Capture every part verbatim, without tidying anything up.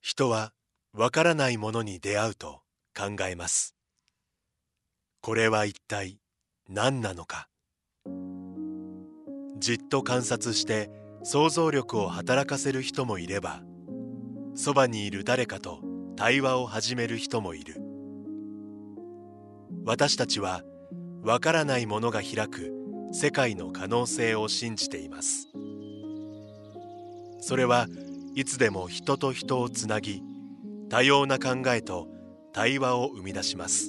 人はわからないものに出会うと考えます。これは一体何なのか。じっと観察して想像力を働かせる人もいれば、そばにいる誰かと対話を始める人もいる。私たちはわからないものが開く世界の可能性を信じています。それはいつでも人と人をつなぎ、多様な考えと対話を生み出します。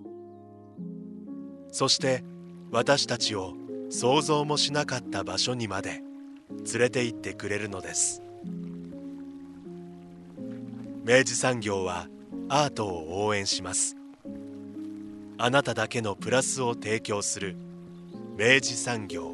そして私たちを想像もしなかった場所にまで連れて行ってくれるのです。明治産業はアートを応援します。あなただけのプラスを提供する明治産業。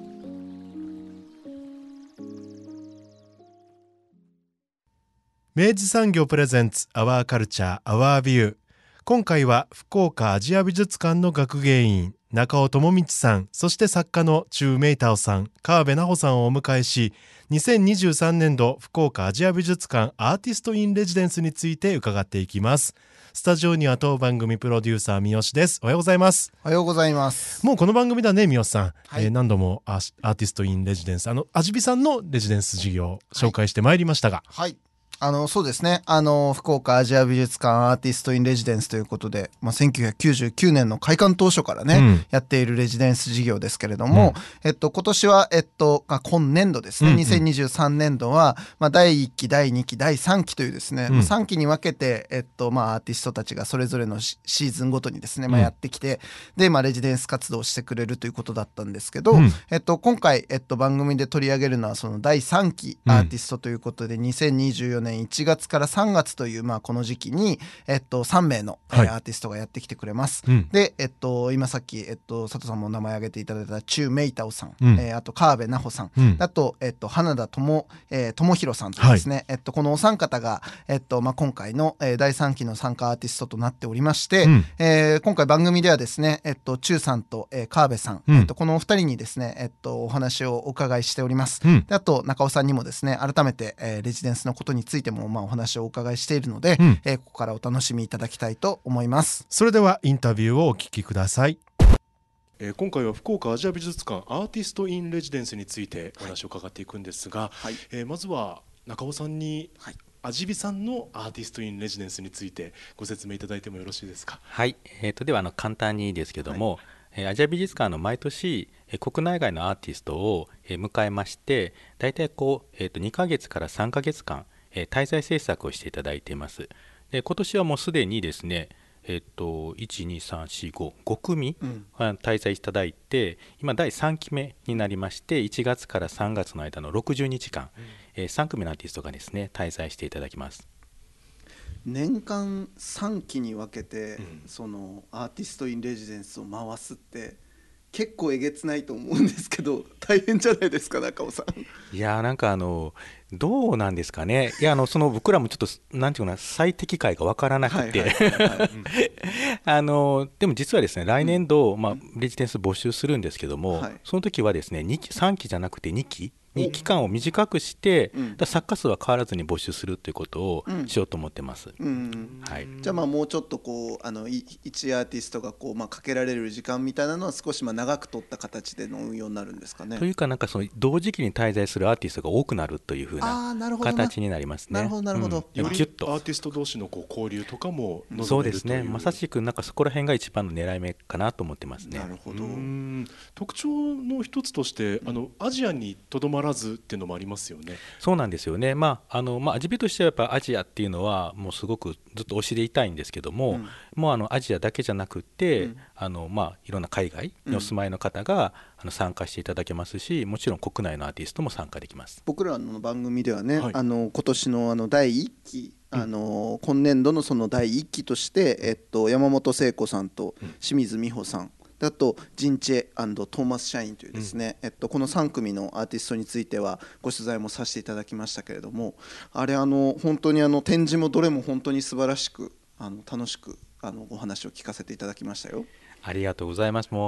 明治産業プレゼンツアワーカルチャーアワービュー。今回は福岡アジア美術館の学芸員中尾智光さん、そして作家のチュウ・メイタオさん、川辺奈穂さんをお迎えし、にせんにじゅうさんねんど福岡アジア美術館アーティストインレジデンスについて伺っていきます。スタジオには当番組プロデューサー三好です。おはようございます。 おはようございます。 もうこの番組だね、三好さん、 はい、 えー、何度もアーティストインレジデンス、あの味美さんのレジデンス事業を紹介してまいりましたが、 はい、はいあのそうですねあの福岡アジア美術館アーティストインレジデンスということで、まあ、せんきゅうひゃくきゅうじゅうきゅうねんの開館当初からね、うん、やっているレジデンス事業ですけれども、うんえっと、今年は、えっと、今年度ですね、うんうん、にせんにじゅうさんねんどは、まあ、だいいっきだいにきだいさんきというですね、うん、さんきに分けて、えっとまあ、アーティストたちがそれぞれのシーズンごとにですね、まあ、やってきて、うんでまあ、レジデンス活動をしてくれるということだったんですけど、うんえっと、今回、えっと、番組で取り上げるのはそのだいさんきアーティストということで、うん、にせんにじゅうよねんいちがつからさんがつという、まあ、この時期に、えっと、さんめいの、はいえー、アーティストがやってきてくれます、うん、で、えっと、今さっき、えっと、佐藤さんも名前挙げていただいたチュウ・メイタオさん、うんえー、あと川辺奈穂さん、うん、あと、えっと、花田智、えー、智弘さんというですね、はいえっと、このお三方が、えっとまあ、今回の、えー、だいさんきの参加アーティストとなっておりまして、うんえー、今回番組ではですね、えっと、チュウさんと、えー、川辺さん、うんえっと、このお二人にですね、えっと、お話をお伺いしております、うん、であと中尾さんにもですね改めて、えー、レジデンスのことについても、まあ、お話をお伺いしているので、うんえー、ここからお楽しみいただきたいと思います。 それではインタビューをお聞きください。えー、今回は福岡アジア美術館アーティストインレジデンスについてお話を伺っていくんですが、はいえー、まずは中尾さんに、はい、味美さんのアーティストインレジデンスについてご説明いただいてもよろしいですか。 はい、えー、とではあの簡単にですけども、はい、アジア美術館の毎年国内外のアーティストを迎えまして、だいたいこう、えー、とにかげつからさんかげつかん滞在制作をしていただいています。で今年はもうすでにですね、えっと、いち、に、さん、し、ご、ごくみ、うん、滞在いただいて、今だいさんきめになりまして、いちがつからさんがつの間のろくじゅうにちかん、うんえー、さんくみのアーティストがですね滞在していただきます。 年間さんきに分けて、うん、そのアーティストインレジデンスを回すって結構えげつないと思うんですけど、大変じゃないですか中尾さん。 いやなんかあのどうなんですかね。いやあのその僕らもちょっとなんていうかな最適解が分からなくてあのでも実はですね来年度、うんまあ、レジデンス募集するんですけども、はい、その時はですねにきさんきじゃなくてにきに期間を短くして、うん、だ作家数は変わらずに募集するということをしようと思ってます、うんうんはい、じゃあまあもうちょっとこうあのいちアーティストがこう、まあ、かけられる時間みたいなのは少しまあ長く取った形での運用になるんですかね。 というかなんかその同時期に滞在するアーティストが多くなるというふうな形になりますね。 なるほどなるほど、 うん、よりアーティスト同士のこう交流とかも望めるという。 そうですねまさしくなんかそこら辺が一番の狙い目かなと思ってますね。 なるほど。 うん特徴の一つとしてあのアジアにとどまらずっていうのもありますよね。 そうなんですよね。まああのまあ味美としてはやっぱアジアっていうのはもうすごくずっと推しでいたいんですけども、うん、もうあのアジアだけじゃなくて、うん、あのまあいろんな海外にお住まいの方が、うん、あの参加していただけますし、もちろん国内のアーティストも参加できます。 僕らの番組ではね、はい、あの今年のあのだいいっきあの今年度のそのだいいっきとして、えっと、山本聖子さんと清水美穂さん、あとジンチェ&トーマス・シャインというですね、うんえっと、このさんくみのアーティストについてはご取材もさせていただきましたけれども、あれあの本当にあの展示もどれも本当に素晴らしくあの楽しくあのお話を聞かせていただきましたよ。 ありがとうございます。もう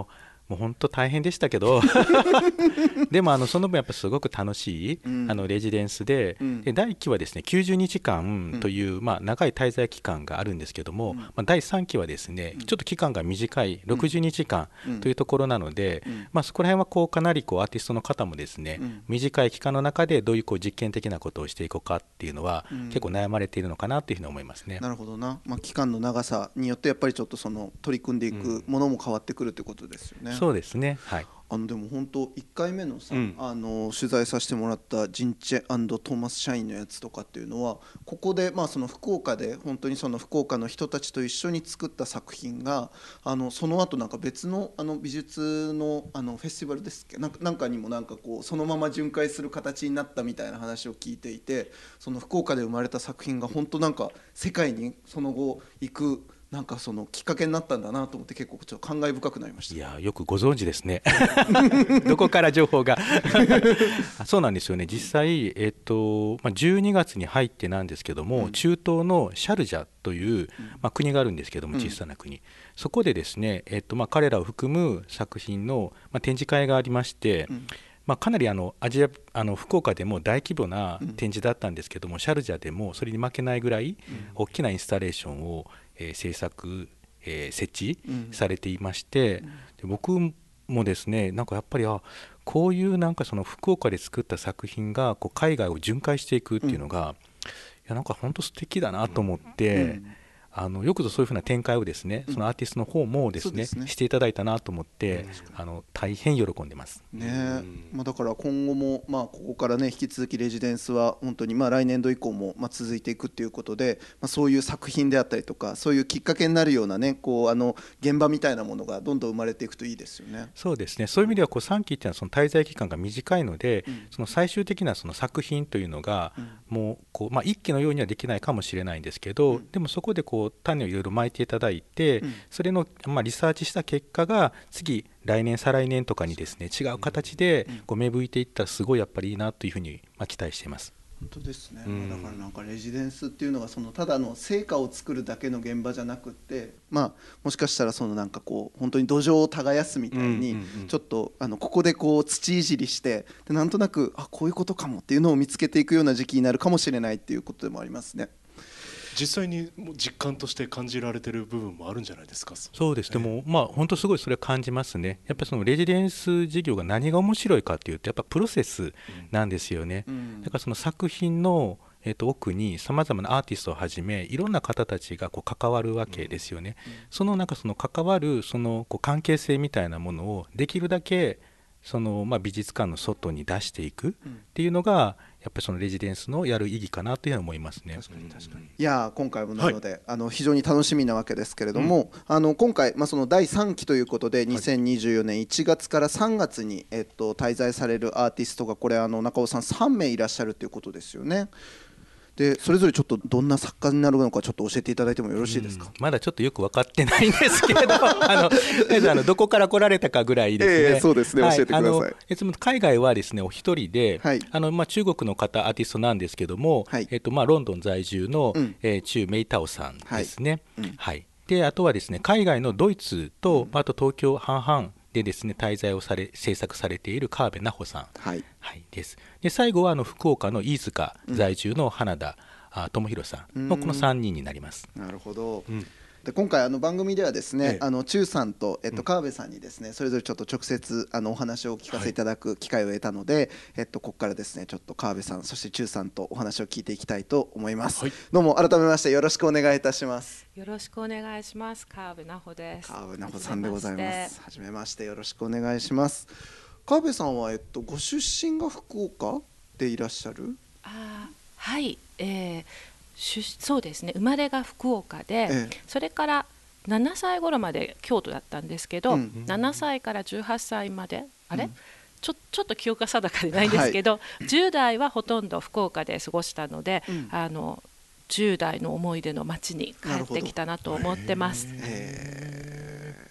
もう本当大変でしたけどでもあのその分やっぱすごく楽しい、うん、あのレジデンス で,、うん、でだいいっきはですねきゅうじゅうにじかんという、うんまあ、長い滞在期間があるんですけども、うんまあ、だいさんきはですね、うん、ちょっと期間が短いろくじゅうにじかんというところなので、うんまあ、そこら辺はこうかなりこうアーティストの方もですね、うん、短い期間の中でどういうこう実験的なことをしていこうかっていうのは、うん、結構悩まれているのかなというふうに思いますね。 なるほどな、まあ、期間の長さによってやっぱりちょっとその取り組んでいくものも変わってくるということですよね。 うん、そうですね、はい。 あのでも本当いっかいめのさ、 うん、 あの取材させてもらったジンチェ&トーマス・シャインのやつとかっていうのはここで、まあ、その福岡で本当にその福岡の人たちと一緒に作った作品があのその後なんか別の、あの美術 の, あのフェスティバルですっけなんか、なんかにもなんかこうそのまま巡回する形になったみたいな話を聞いていて、その福岡で生まれた作品が本当なんか世界にその後行くなんかそのきっかけになったんだなと思って結構ちょっと感慨深くなりました。 いやよくご存知ですねどこから情報がそうなんですよね。実際、えっとまあ、じゅうにがつに入ってなんですけども、うん、中東のシャルジャという、まあ、国があるんですけども小さな国、うん、そこでですね、えっとまあ、彼らを含む作品の、まあ、展示会がありまして、うんまあ、かなりあのアジアあの福岡でも大規模な展示だったんですけども、うん、シャルジャでもそれに負けないぐらい大きなインスタレーションを、えー、制作、えー、設置されていまして、うん、で僕もですねなんかやっぱりあこういうなんかその福岡で作った作品がこう海外を巡回していくっていうのが、うん、いやなんか本当素敵だなと思って、うんあのよくぞそういうふうな展開をですね、うん、そのアーティストの方もですね、ですねしていただいたなと思って、うん、あの大変喜んでますね。まあ、だから今後も、まあ、ここからね引き続きレジデンスは本当にまあ来年度以降もまあ続いていくっていうことで、まあ、そういう作品であったりとかそういうきっかけになるようなねこうあの現場みたいなものがどんどん生まれていくといいですよね。 そうですね。そういう意味ではこうさんきっていうのはその滞在期間が短いので、うん、その最終的なその作品というのがもうこう、まあ、一期のようにはできないかもしれないんですけど、うん、でもそこでこう種をいろいろ巻いていただいて、うん、それの、まあ、リサーチした結果が次来年再来年とかにですね違う形でこう芽吹いていったらすごいやっぱりいいなというふうにまあ期待しています。 本当ですね、うん、だからなんかレジデンスっていうのがそのただの成果を作るだけの現場じゃなくって、まあ、もしかしたらそのなんかこう本当に土壌を耕すみたいにちょっとあのここでこう土いじりしてでなんとなくあこういうことかもっていうのを見つけていくような時期になるかもしれないっていうことでもありますね。 実際に実感として感じられてる部分もあるんじゃないですか。 そうですね、もうまあ本当すごいそれは感じますね。やっぱりそのレジデンス事業が何が面白いかっていうとやっぱプロセスなんですよね、うん、だからその作品のえー、と奥にさまざまなアーティストをはじめいろんな方たちがこう関わるわけですよね、うんうん、そのなんかその関わるそのこう関係性みたいなものをできるだけそのまあ美術館の外に出していくっていうのがやっぱりそのレジデンスのやる意義かなというのは思いますね。 確かに確かに。いや今回もなので、はい、あの非常に楽しみなわけですけれども、うん、あの今回、まあ、そのだいさんきということでにせんにじゅうよねんいちがつからさんがつに、えっと、滞在されるアーティストがこれあの中尾さんさんめいいらっしゃるということですよね。でそれぞれちょっとどんな作家になるのかちょっと教えていただいてもよろしいですか。 うん、まだちょっとよく分かってないんですけどあのあのどこから来られたかぐらいですね、 えー、そうですね、はい、教えてください。あのいつも海外はですねお一人で、はい、あのまあ、中国の方アーティストなんですけども、はい、えっとまあ、ロンドン在住の、うんえー、チュウ・メイタオさんですね、はいうんはい、であとはですね海外のドイツと、うん、あと東京半々でですね滞在をされ制作されている川辺奈穂さん、はいはい、です。で最後はあの福岡の飯塚在住の花田、うん、智弘さんのこのさんにんになります。 なるほど、うん、で今回あの番組ではですね、ええ、あのチュウさんと、えっと、川辺さんにですね、うん、それぞれちょっと直接あのお話をお聞かせいただく機会を得たので、はい、えっと、ここからですねちょっと川辺さんそしてチュウさんとお話を聞いていきたいと思います、はい、どうも改めましてよろしくお願いいたします。 よろしくお願いします。川辺奈穂です。 川辺奈穂さんでございます。はじめましてよろしくお願いします。川辺さんは、えっと、ご出身が福岡でいらっしゃる？ あはい、えーそうですね、生まれが福岡で、ええ、それからななさい頃まで京都だったんですけど、うん、ななさいからじゅうはっさいまであれ、うん、ちょ、ちょっと記憶が定かでないんですけど、はい、じゅう代はほとんど福岡で過ごしたので、うん、あのじゅう代の思い出の街に帰ってきたなと思ってます。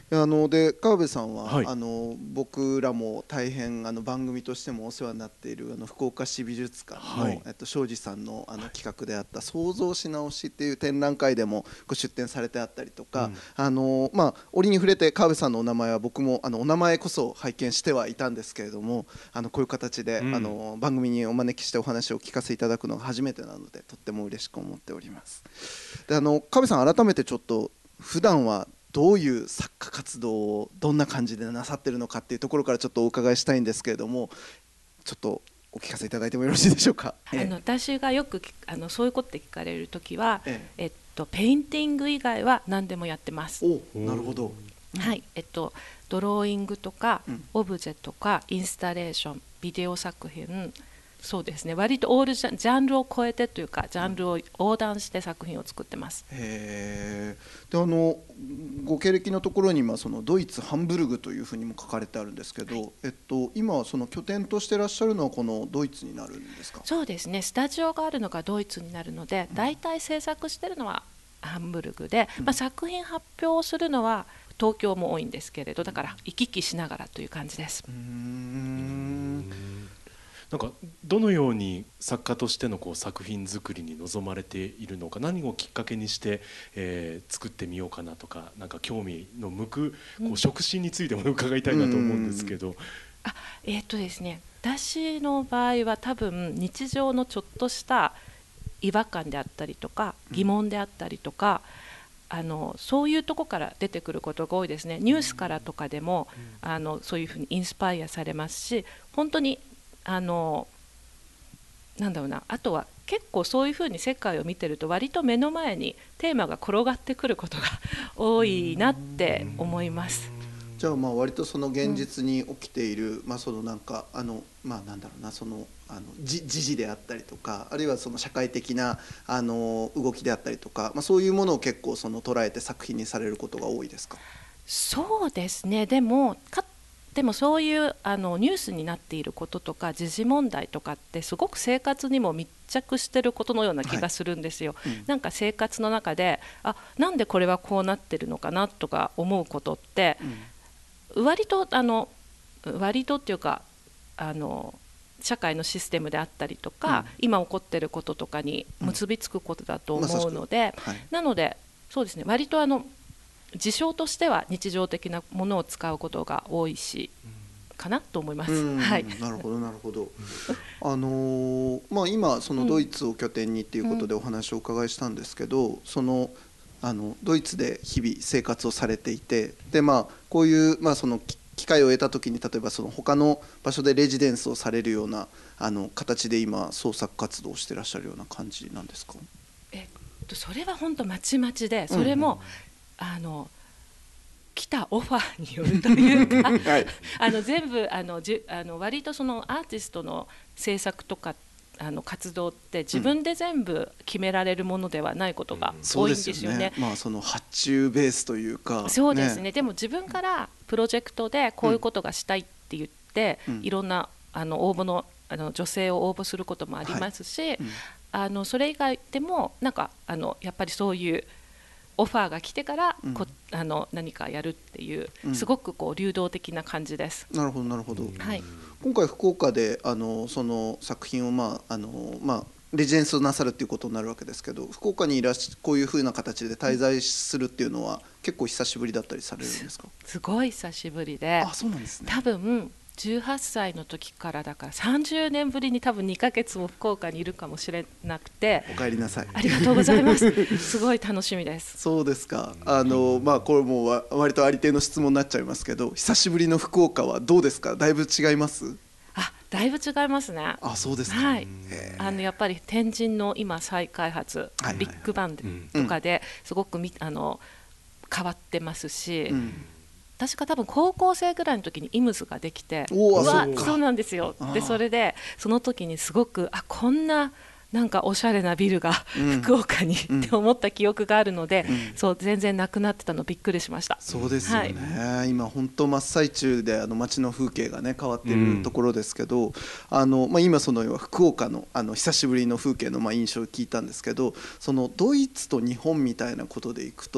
あので川辺さんは、 はい、 あの僕らも大変あの番組としてもお世話になっているあの福岡市美術館の、はい、えっと、庄司さんの、あの企画であった創造し直しっていう展覧会でもご出展されてあったりとか、うん、あのまあ、折に触れて川辺さんのお名前は僕もあのお名前こそ拝見してはいたんですけれども、あのこういう形で、うん、あの番組にお招きしてお話を聞かせいただくのが初めてなのでとっても嬉しく思っております。であの川辺さん、改めてちょっと普段はどういう作家活動をどんな感じでなさってるのかっていうところからちょっとお伺いしたいんですけれども、ちょっとお聞かせいただいてもよろしいでしょうか。 あの私がよくあのそういうことで聞かれるときは、えええっと、ペインティング以外は何でもやってます。 お、なるほど、 うん、はい、えっと、ドローイングとか、うん、オブジェとかインスタレーション、ビデオ作品、そうですね、割とオールジャン、ジャンルを超えてというかジャンルを横断して作品を作ってます。 へー。であのご経歴のところに今そのドイツハンブルグというふうにも書かれてあるんですけど、はい、えっと、今その拠点としてらっしゃるのはこのドイツになるんですか？ そうですね、スタジオがあるのがドイツになるので、だいたい制作してるのはハンブルグで、うん、まあ、作品発表するのは東京も多いんですけれど、だから行き来しながらという感じです。 うーん、 なんかどのように作家としてのこう作品作りに臨まれているのか、何をきっかけにして、えー、作ってみようかなとか、なんか興味の向くこう触心についても伺いたいなと思うんですけど。 あ、えーっとですね、私の場合は多分日常のちょっとした違和感であったりとか疑問であったりとか、あのそういうとこから出てくることが多いですね。ニュースからとかでもあのそういうふうにインスパイアされますし、本当にあのなんだろうな、あとは結構そういうふうに世界を見てると割と目の前にテーマが転がってくることが多いなって思います。 じゃあまあ割とその現実に起きている、うん、まあそのなんかあのまあなんだろうな、そのあの時事であったりとか、あるいはその社会的なあの動きであったりとか、まあそういうものを結構その捉えて作品にされることが多いですか？ そうですね。でもかでもそういうあのニュースになっていることとか時事問題とかってすごく生活にも密着してることのような気がするんですよ、はい、うん、なんか生活の中であ、なんでこれはこうなってるのかなとか思うことって、うん、割とあの割とっていうかあの社会のシステムであったりとか、うん、今起こってることとかに結びつくことだと思うので、うん、まはい、なのでそうですね、割とあの事象としては日常的なものを使うことが多いし、かなと思います。はい、 なるほどなるほど。あのー、まあ今そのドイツを拠点にっていうことでお話をお伺いしたんですけど、うん、そのあのドイツで日々生活をされていて、でまあこういうまあその機会を得た時に例えばその他の場所でレジデンスをされるようなあの形で今創作活動をしてらっしゃるような感じなんですか？ えっとそれは本当まちまちで、それも、うん、あの来たオファーによるというか、はい、あの全部あのじあの割とそのアーティストの制作とかあの活動って自分で全部決められるものではないことが多いんですよね。うん、そうですよね。 まあその発注ベースというか。 そうですね。ね、でも自分からプロジェクトでこういうことがしたいって言って、うん、いろんなあの応募のあの女性を応募することもありますし、はい、うん、あのそれ以外でもなんかあのやっぱりそういうオファーが来てからこ、うん、あの何かやるっていう、うん、すごくこう流動的な感じです。 なるほどなるほど、 はい、 今回福岡であのその作品を、まああのまあ、レジデンスをなさるっていうことになるわけですけど、福岡にいらっしこういうふうな形で滞在するっていうのは結構久しぶりだったりされるんですか？ すごい久しぶりで、 あ、そうなんですね。 多分じゅうはっさいの時からだからさんじゅうねんぶりに多分にかげつも福岡にいるかもしれなくて。 お帰りなさい。 ありがとうございますすごい楽しみです。 そうですか。あの、まあ、これも割とありていの質問になっちゃいますけど、久しぶりの福岡はどうですか？だいぶ違います？ あ、だいぶ違いますね。 あ、そうですか。 はい、あのやっぱり天神の今再開発、はいはいはい、ビッグバンとかですごくみあの変わってますし、うん、確か多分高校生ぐらいの時にイムズができて、うわ、そうなんですよ。でそれでその時にすごくあこんななんかおしゃれなビルが福岡に、うん、って思った記憶があるので、うん、そう全然なくなってたのびっくりしました。 そうですよね、はい、今本当真っ最中であの街の風景がね変わっているところですけど、うん、あのまあ、今その福岡 の, あの久しぶりの風景のまあ印象を聞いたんですけど、そのドイツと日本みたいなことでいくと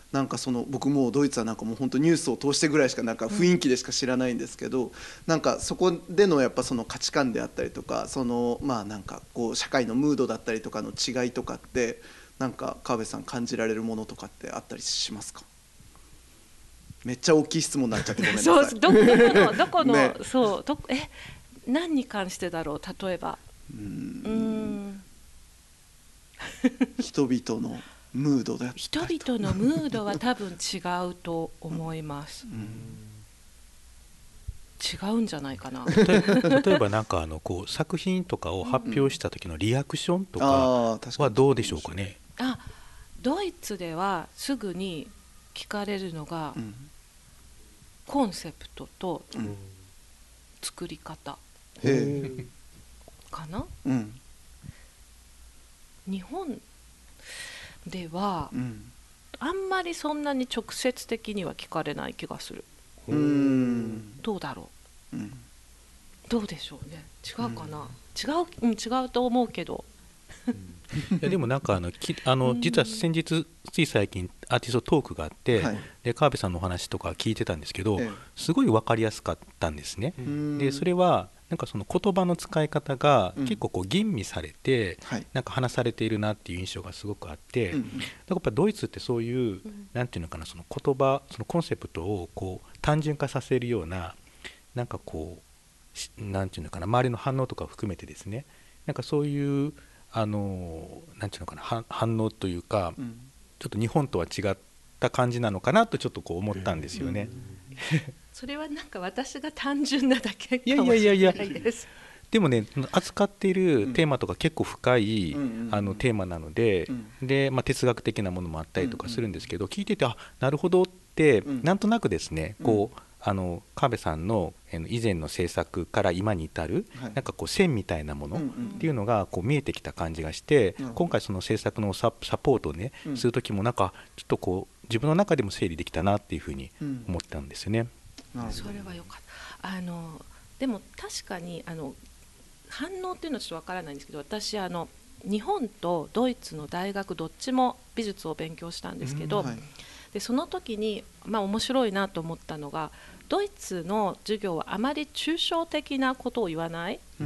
なんかその僕もうドイツはなんかもう本当ニュースを通してぐらいしかなんか雰囲気でしか知らないんですけど、うん、なんかそこでのやっぱその価値観であったりとか、そのまあなんかこう社会のムードだったりとかの違いとかってなんか川辺さん感じられるものとかってあったりしますか？めっちゃ大きい質問になっちゃってごめんなさい。 そうどどこのどこの、ね、そうどえ何に関してだろう。例えばうーん人々のムードだ人々のムードは多分違うと思います、うん、違うんじゃないかな。 例えばなんかあのこう作品とかを発表した時のリアクションとかはどうでしょうかね。 うん、あドイツではすぐに聞かれるのが、うん、コンセプトと作り方、うん、かな、うん、日本では、うん、あんまりそんなに直接的には聞かれない気がする。うーんどうだろう、うん、どうでしょうね。違うかな、うん、違う、うん、違うと思うけど、 うん、いやでもなんかあのきあの実は先日つい最近アーティストトークがあって、はい、で川辺さんのお話とか聞いてたんですけど、ええ、すごい分かりやすかったんですね。でそれはなんかその言葉の使い方が結構こう吟味されて、うん、なんか話されているなっていう印象がすごくあって、うん、だからやっぱドイツってそういう、うん、なんていうのかな、その言葉そのコンセプトをこう単純化させるようななんかこうなんていうのかな、周りの反応とかを含めてですね、なんかそういうあのなんていうのかな反応というか、うん、ちょっと日本とは違った感じなのかなとちょっとこう思ったんですよね。 それはなんか私が単純なだけかもしれないです。 でもね扱っているテーマとか結構深い、うん、あのテーマなので、うん、で、まあ、哲学的なものもあったりとかするんですけど、うん、聞いててあなるほどって、うん、なんとなくですねこうあの川辺さんの以前の制作から今に至る、はい、なんかこう線みたいなものっていうのがこう見えてきた感じがして、うん、今回その制作のサポートをね、うん、する時もなんかちょっとこう自分の中でも整理できたなっていうふうに思ったんですよね。 うん、それはよかった。あのでも確かにあの反応っていうのはちょっとわからないんですけど、私あの日本とドイツの大学どっちも美術を勉強したんですけど、うんはい、でその時に、まあ、面白いなと思ったのがドイツの授業はあまり抽象的なことを言わない、うん、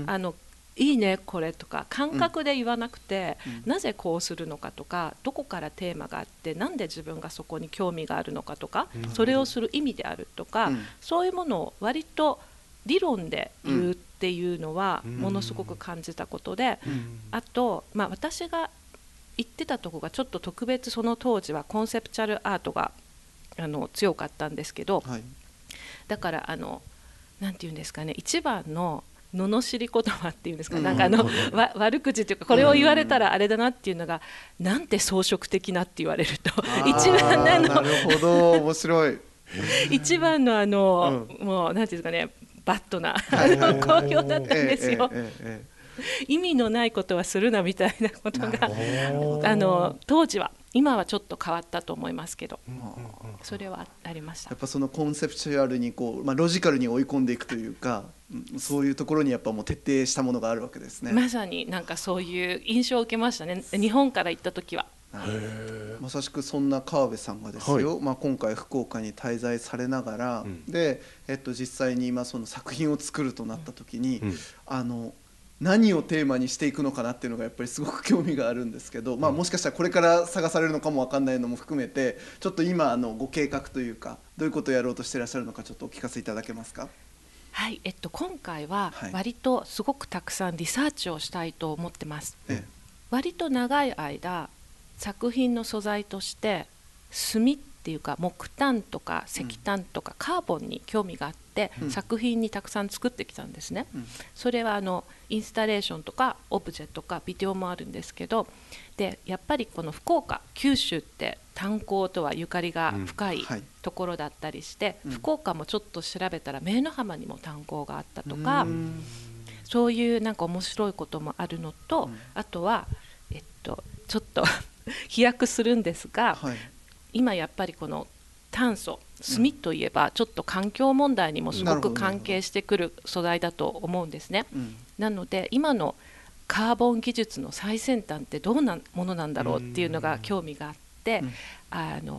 あのいいねこれとか感覚で言わなくて、うん、なぜこうするのかとかどこからテーマがあってなんで自分がそこに興味があるのかとか、うん、それをする意味であるとか、うん、そういうものを割と理論で言うっていうのはものすごく感じたことで、うん、あと、まあ、私が言ってたとこがちょっと特別その当時はコンセプチュアルアートがあの強かったんですけど、はい、だからあのなんていうんですかね、一番の罵り言葉っていうんですか、うん、なんかあの、うん、わ悪口というかこれを言われたらあれだなっていうのが、うん、なんて装飾的なって言われると一番あのなるほど面白い一番のあの、うん、もうなんていうんですかねバッドな好評だったんですよ。ええええ、意味のないことはするなみたいなことがあの当時は、今はちょっと変わったと思いますけど、うん、それはありました。 やっぱそのコンセプチュアルにこう、まあ、ロジカルに追い込んでいくというか、そういうところにやっぱもう徹底したものがあるわけですね。 まさになんかそういう印象を受けましたね、日本から行った時は。 まさしくそんな川辺さんがですよ、はい、まあ、今回福岡に滞在されながら、うん、で、えっと、実際に今その作品を作るとなった時に、うん、あの何をテーマにしていくのかなっていうのがやっぱりすごく興味があるんですけど、まあ、もしかしたらこれから探されるのかも分かんないのも含めてちょっと今あのご計画というかどういうことをやろうとしていらっしゃるのかちょっとお聞かせいただけますか。 はい、えっと、今回は割とすごくたくさんリサーチをしたいと思ってます、ええ、割と長い間作品の素材として炭っていうか木炭とか石炭とかカーボンに興味があって、うん、作品にたくさん作ってきたんですね、うん、それはあのインスタレーションとかオブジェとかビデオもあるんですけど、でやっぱりこの福岡九州って炭鉱とはゆかりが深いところだったりして、うんはい、福岡もちょっと調べたら明の浜にも炭鉱があったとか、うん、そういうなんか面白いこともあるのと、うん、あとは、えっと、ちょっと飛躍するんですが、はい、今やっぱりこの炭素炭といえばちょっと環境問題にもすごく関係してくる素材だと思うんですね、うん、なので今のカーボン技術の最先端ってどんなものなんだろうっていうのが興味があって、うん、あの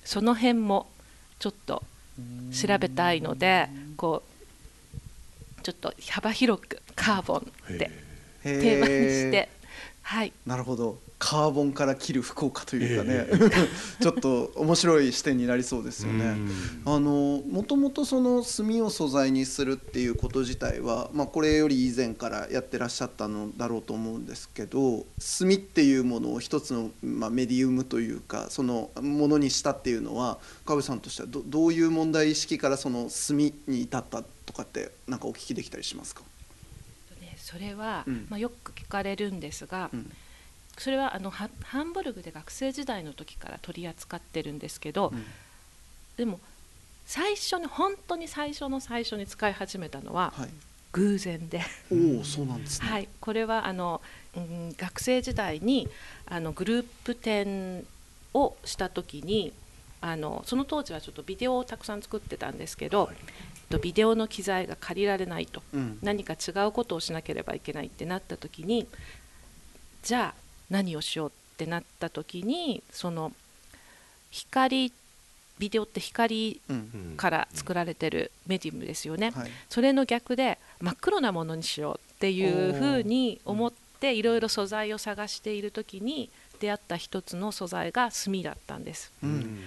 その辺もちょっと調べたいので、こうちょっと幅広くカーボンってテーマにして、はい、 なるほど。カーボンから切る福岡というかね、えー、ちょっと面白い視点になりそうですよね。あのもともとその炭を素材にするっていうこと自体は、まあ、これより以前からやってらっしゃったのだろうと思うんですけど、炭っていうものを一つの、まあ、メディウムというかそのものにしたっていうのは川辺さんとしては ど, どういう問題意識からその炭に至ったとかってなんかお聞きできたりしますか？ それは、 うんまあ、よく聞かれるんですが、うん、それはあのハンブルグで学生時代の時から取り扱ってるんですけど、うん、でも最初に本当に最初の最初に使い始めたのは偶然で、はい、 おお、そうなんですね。 はい、これはあの、うん、学生時代にあのグループ展をした時にあのその当時はちょっとビデオをたくさん作ってたんですけど、はい、ビデオの機材が借りられないと、うん、何か違うことをしなければいけないってなった時に、じゃあ何をしようってなった時に、その光ビデオって光から作られてるメディウムですよね、うんはい、それの逆で真っ黒なものにしようっていうふうに思っていろいろ素材を探している時に出会った一つの素材が炭だったんです、うん、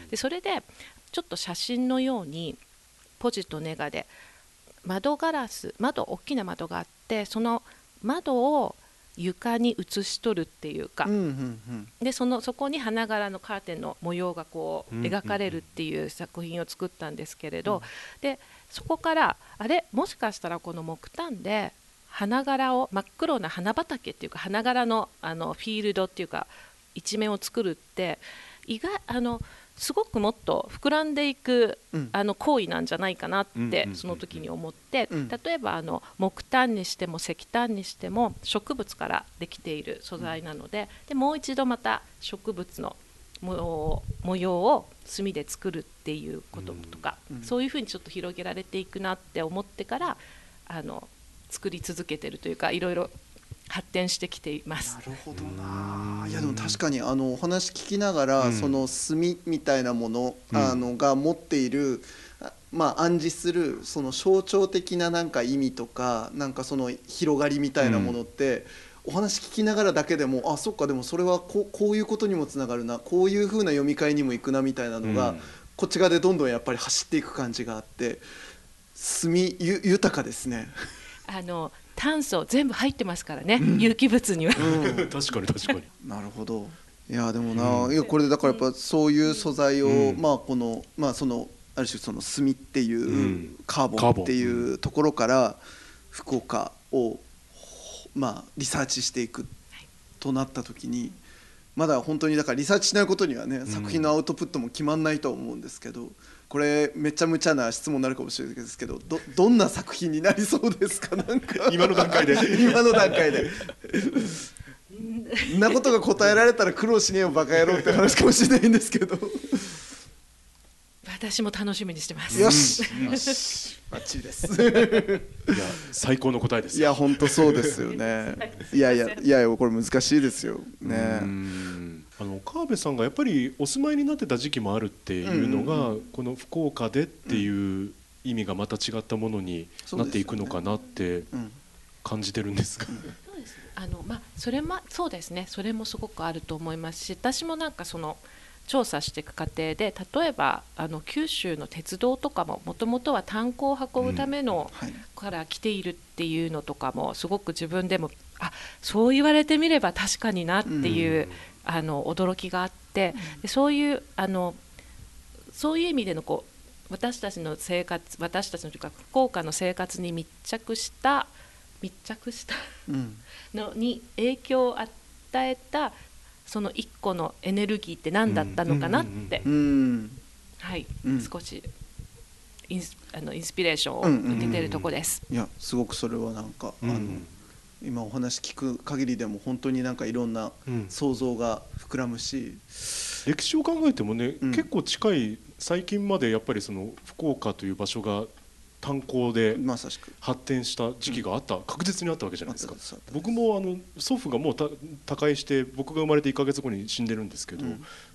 でそれでちょっと写真のようにポジとネガで窓ガラス窓大きな窓があって、その窓を床に映し取るっていうか、うんうんうん、で そ, のそこに花柄のカーテンの模様がこう描かれるっていう作品を作ったんですけれど、うんうんうん、でそこからあれもしかしたらこの木炭で花柄を真っ黒な花畑っていうか花柄 の, あのフィールドっていうか一面を作るって意外あのすごくもっと膨らんでいく、うん、あの行為なんじゃないかなってその時に思って、うん、例えばあの木炭にしても石炭にしても植物からできている素材なので、でもう一度また植物の模様を炭で作るっていうこととか、うん、そういうふうにちょっと広げられていくなって思ってからあの作り続けてるというか、いろいろ発展してきています。 なるほどな。いやでも確かにあのお話聞きながら、うん、その炭みたいなもの、うん、あのが持っている、まあ、暗示するその象徴的ななんか意味とか、なんかその広がりみたいなものって、うん、お話聞きながらだけでもあそっかでもそれはこう、こういうことにもつながるな、こういう風な読み替えにもいくなみたいなのが、うん、こっち側でどんどんやっぱり走っていく感じがあって、炭ゆ豊かですね。 あの炭素全部入ってますからね、うん、有機物には、 うん、確かに確かになるほど。いやでもな、うん、いやこれだからやっぱそういう素材を、うん、まあこのまあそのある種その炭っていう、うん、カーボンっていうところから福岡をまあリサーチしていくとなった時に、まだ本当にだからリサーチしないことにはね、作品のアウトプットも決まんないと思うんですけど、これめちゃめちゃな質問になるかもしれないですけど、 ど, どんな作品になりそうですか？なんか今の段階で今の段階でんなことが答えられたら苦労しねえよバカ野郎って話かもしれないんですけど私も楽しみにしてます。 よし、よしバッチリですいや最高の答えですよ。 いや本当そうですよねいやいやいやこれ難しいですよね。 うんあの川辺さんがやっぱりお住まいになってた時期もあるっていうのが、うんうんうん、この福岡でっていう意味がまた違ったものになっていくのかなって感じてるんですが、 そうですね、あのまあそれもそうですね、それもすごくあると思いますし、私もなんかその調査していく過程で、例えばあの九州の鉄道とかももともとは炭鉱を運ぶための、うんはい、から来ているっていうのとかもすごく自分でもあそう言われてみれば確かになっていう、うん、あの驚きがあって、うん、でそういうあのそういう意味でのこう私たちの生活私たちのというか福岡の生活に密着した密着したのに影響を与えたその一個のエネルギーって何だったのかなって、はい、うん、少しインス、あのインスピレーションを受けているところです。 いやすごくそれはなんか、うん、あの今お話聞く限りでも本当になんかいろんな想像が膨らむし、うん、 歴史を考えてもね、うん、結構近い最近までやっぱりその福岡という場所が炭鉱で発展した時期があった、うん、確実にあったわけじゃないですか。僕もあの祖父がもう他界して僕が生まれていっかげつごに死んでるんですけど、うん、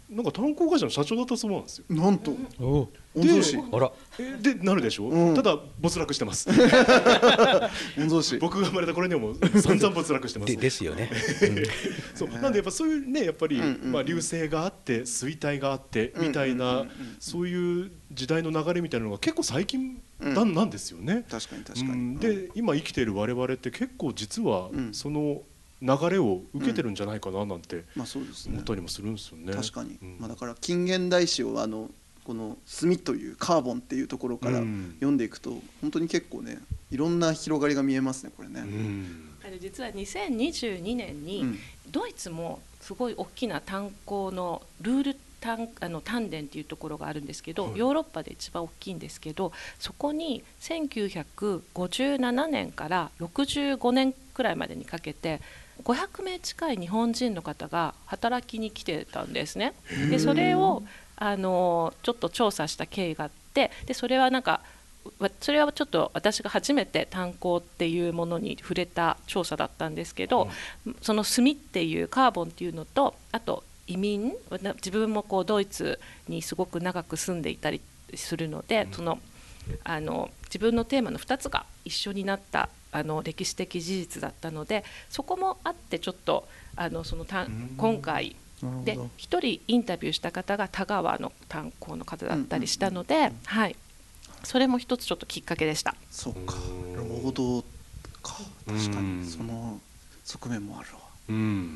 なんか炭鉱会社の社長だったそうなんですよ。 なんとお御曹司あらでなるでしょ、 うん、 ただ没落してます御曹司僕が生まれた頃にはもう散々没落してますでですよね、 うん、そうなんでやっぱそういうねやっぱり、 うんうんうん、 まあ、流星があって衰退があってみたいな、うんうんうんうん、そういう時代の流れみたいなのが結構最近な、うん、なんですよね。 確かに確かに、うん、 で今生きている我々って結構実はその流れを受けてるんじゃないかななんて思ったりもするんですよね。 確かに、うん、まあ、だから近現代史をあのこの炭というカーボンっていうところから読んでいくと、うん、本当に結構ねいろんな広がりが見えますねこれね、うん、 あの実はにせんにじゅうにねんにドイツもすごい大きな炭鉱のルール炭あの炭田っていうところがあるんですけど、はい、ヨーロッパで一番大きいんですけど、そこにせんきゅうひゃくごじゅうななねんからろくじゅうごねんくらいまでにかけてごひゃくめい近い日本人の方が働きに来てたんですね。でそれをあのちょっと調査した経緯があって、でそれはなんかそれはちょっと私が初めて炭鉱っていうものに触れた調査だったんですけど、うん、その炭っていうカーボンっていうのと、あと移民、自分もこうドイツにすごく長く住んでいたりするので、うん、そのあの自分のテーマのふたつが一緒になったあの歴史的事実だったので、そこもあってちょっとあのそのた今回でひとりインタビューした方が田川の炭鉱の方だったりしたので、うんうんうん、はい、それも一つちょっときっかけでした。 そうか、労働か、確かにその側面もあるわ、うん、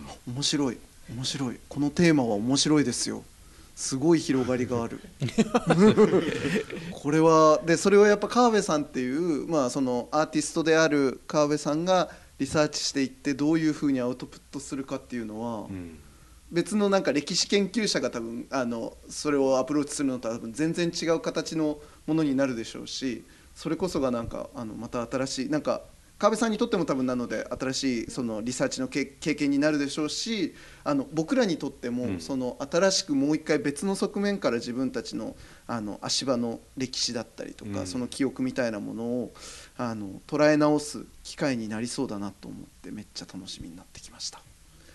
面白い面白い、このテーマは面白いですよ。すごい広がりがあるこれはで、それをやっぱ川辺さんっていう、まあ、そのアーティストである川辺さんがリサーチしていってどういうふうにアウトプットするかっていうのは、うん、別のなんか歴史研究者が多分あのそれをアプローチするのとは多分全然違う形のものになるでしょうし、それこそがなんかあのまた新しいなんか川辺さんにとっても多分なので新しいそのリサーチの経験になるでしょうし、あの僕らにとってもその新しくもう一回別の側面から自分たちのあの足場の歴史だったりとか、その記憶みたいなものをあの捉え直す機会になりそうだなと思ってめっちゃ楽しみになってきました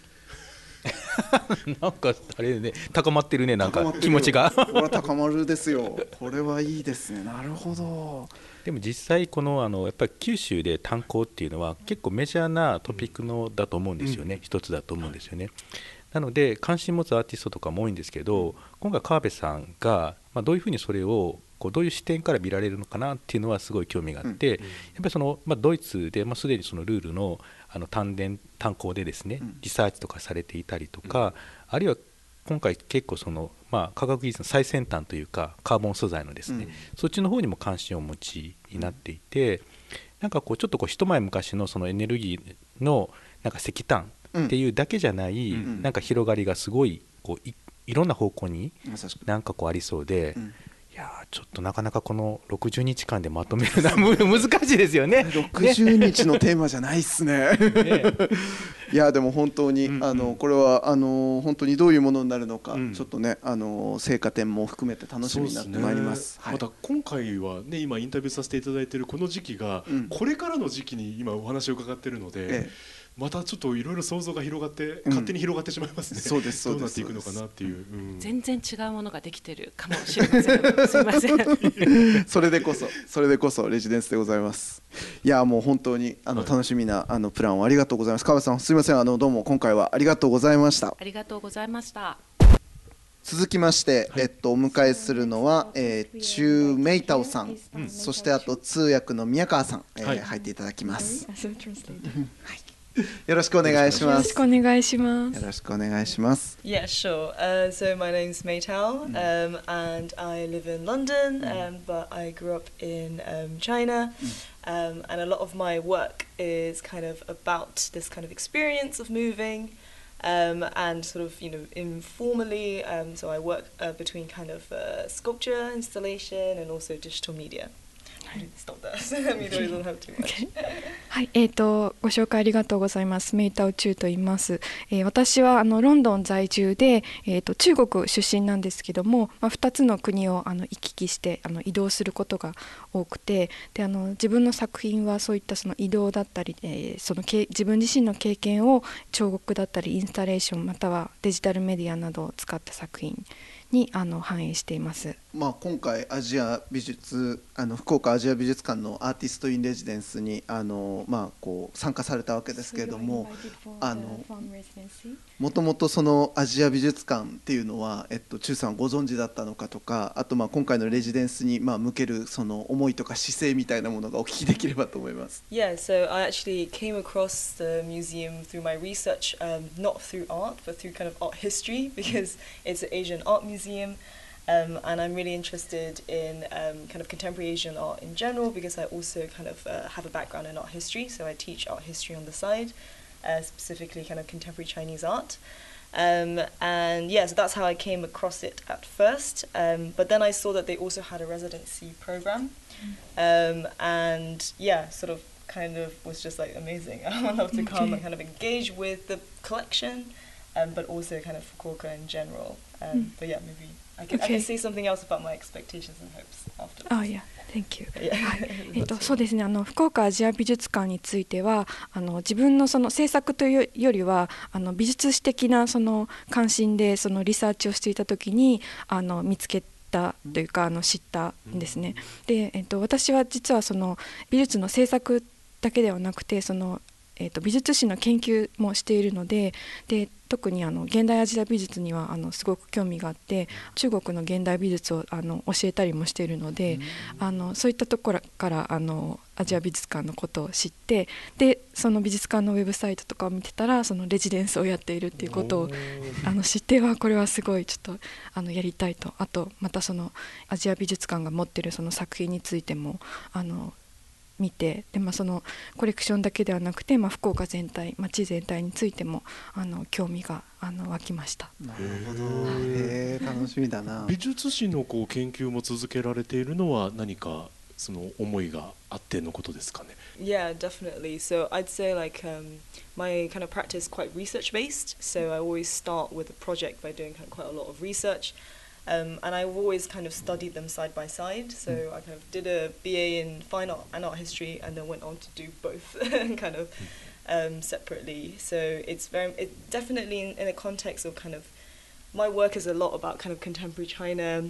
なんかあれね、高まってるね、なんか気持ちがこれは高まるですよ。これはいいですね。なるほど。 でも実際このあのやっぱり九州で炭鉱っていうのは結構メジャーなトピックのだと思うんですよね、うん、一つだと思うんですよね。なので関心持つアーティストとかも多いんですけど、今回川辺さんがまあどういうふうにそれをこうどういう視点から見られるのかなっていうのはすごい興味があって、うん、やっぱりそのまあドイツでまあすでにそのルールのあの炭田炭鉱でですねリサーチとかされていたりとか、うん、あるいは今回結構その、まあ、科学技術の最先端というかカーボン素材のですね、うん、そっちの方にも関心をお持ちになっていて、なんかこうちょっとこう一前昔のそのエネルギーのなんか石炭っていうだけじゃない、うん、なんか広がりがすごいこう い, いろんな方向になんかこうありそうで、うん、いやちょっとなかなかこのろくじゅうにちかんでまとめるのは難しいですよね。 ろくじゅうにちのテーマじゃないっすね。ねいやでも本当に、うんうん、あのこれはあの本当にどういうものになるのか、うん、ちょっとねあの成果点も含めて楽しみになってまいります。 はい、また今回はね今インタビューさせていただいているこの時期が、うん、これからの時期に今お話を伺っているので。ええ、またちょっといろいろ想像が広がって、うん、勝手に広がってしまいますね。そうですそうです。どうなっていくのかなっていう、うん、 全然違うものができてるかもしれません。すいません。 それでこそそれでこそレジデンスでございます。いやもう本当にあの、はい、楽しみなあのプランをありがとうございます。川辺さんすいません、あのどうも今回はありがとうございました。 ありがとうございました。 続きまして、はい、えっと、お迎えするのは、えー、チュー・メイタオさん、うん、そしてあと通訳の宮川さん、えーはい、入っていただきます。はいよろしくお願いします。よろしくお願いします。よろしくお願いします。 Yeah, sure. Uh, so my name's Maytao, um, and I live in London, um, but I grew up in um, China, um, and a lot of my work is kind of about this kind of experience of moving, um, and sort of you know informally. Um, so I work uh, between kind of uh, sculpture, installation, and also digital media. Stop there. Media doesn't have too much. Okay. はい、えーと、ご紹介ありがとうございます。メイタオチュウと言います。えー、私はあのロンドン在住で、えーと、中国出身なんですけども、まあ、ふたつの国をあの行き来してあの移動することが多くて、であの自分の作品はそういったその移動だったり、えー、そのけ自分自身の経験を彫刻だったりインスタレーションまたはデジタルメディアなどを使った作品にあの反映しています。 まあ、今回アジア美術あの福岡アジア美術館のアーティスト・イン・レジデンスにあの、まあ、こう参加されたわけですけれども、あのもともとそのアジア美術館っていうのは、えっと、チュウさんご存知だったのかとか、あとまあ今回のレジデンスにまあ向けるその思いとか姿勢みたいなものがお聞きできればと思います。 Yeah, so I actually came across the museum through my research, um, not through art, but through kind of art history, because it's an Asian art museum. Um, and I'm really interested in um, kind of contemporary Asian art in general, because I also kind of uh, have a background in art history, so I teach art history on the side, uh, specifically kind of contemporary Chinese art. Um, and yeah, so that's how I came across it at first. Um, but then I saw that they also had a residency program, um, and yeah, sort of kind of was just like amazing. I would love to come and kind of engage with the collection, um, but also kind of Fukuoka in general. Um, mm. But yeah, maybe. I can, okay. I can say something else about my expectations and hopes afterwards. Oh yeah, thank you. えっとそうですね。あの福岡アジア美術館については、あの自分のその制作というよりは、あの美術史的なその関心でそのリサーチをしていたときに、あの見つけたというかあの知ったんですね。で、えっと私は実はその美術の制作だけではなくて、そのえー、と美術史の研究もしているので、で特にあの現代アジア美術にはあのすごく興味があって、中国の現代美術をあの教えたりもしているので、あのそういったところからあのアジア美術館のことを知って、でその美術館のウェブサイトとかを見てたら、そのレジデンスをやっているっていうことをあの知っては、これはすごいちょっとあのやりたいと、あとまたそのアジア美術館が持っているその作品についてもあの見て、で、まあ、そのコレクションだけではなくて、まあ、福岡全体町全体についてもあの興味があの湧きました。 なるほど、へえ、楽しみだな。 美術史のこう研究も続けられているのは何かその思いがあってのことですかね。 Yeah, definitely. So I'd say like um, my kind of practice is quite research based, so I always start with a project by doing kind of quite a lot of research. Um, and I've always kind of studied them side by side. So mm. I kind of did a B A in fine art and art history, and then went on to do both kind of um, separately. So it's very, it definitely in, in a context of kind of, my work is a lot about kind of contemporary China,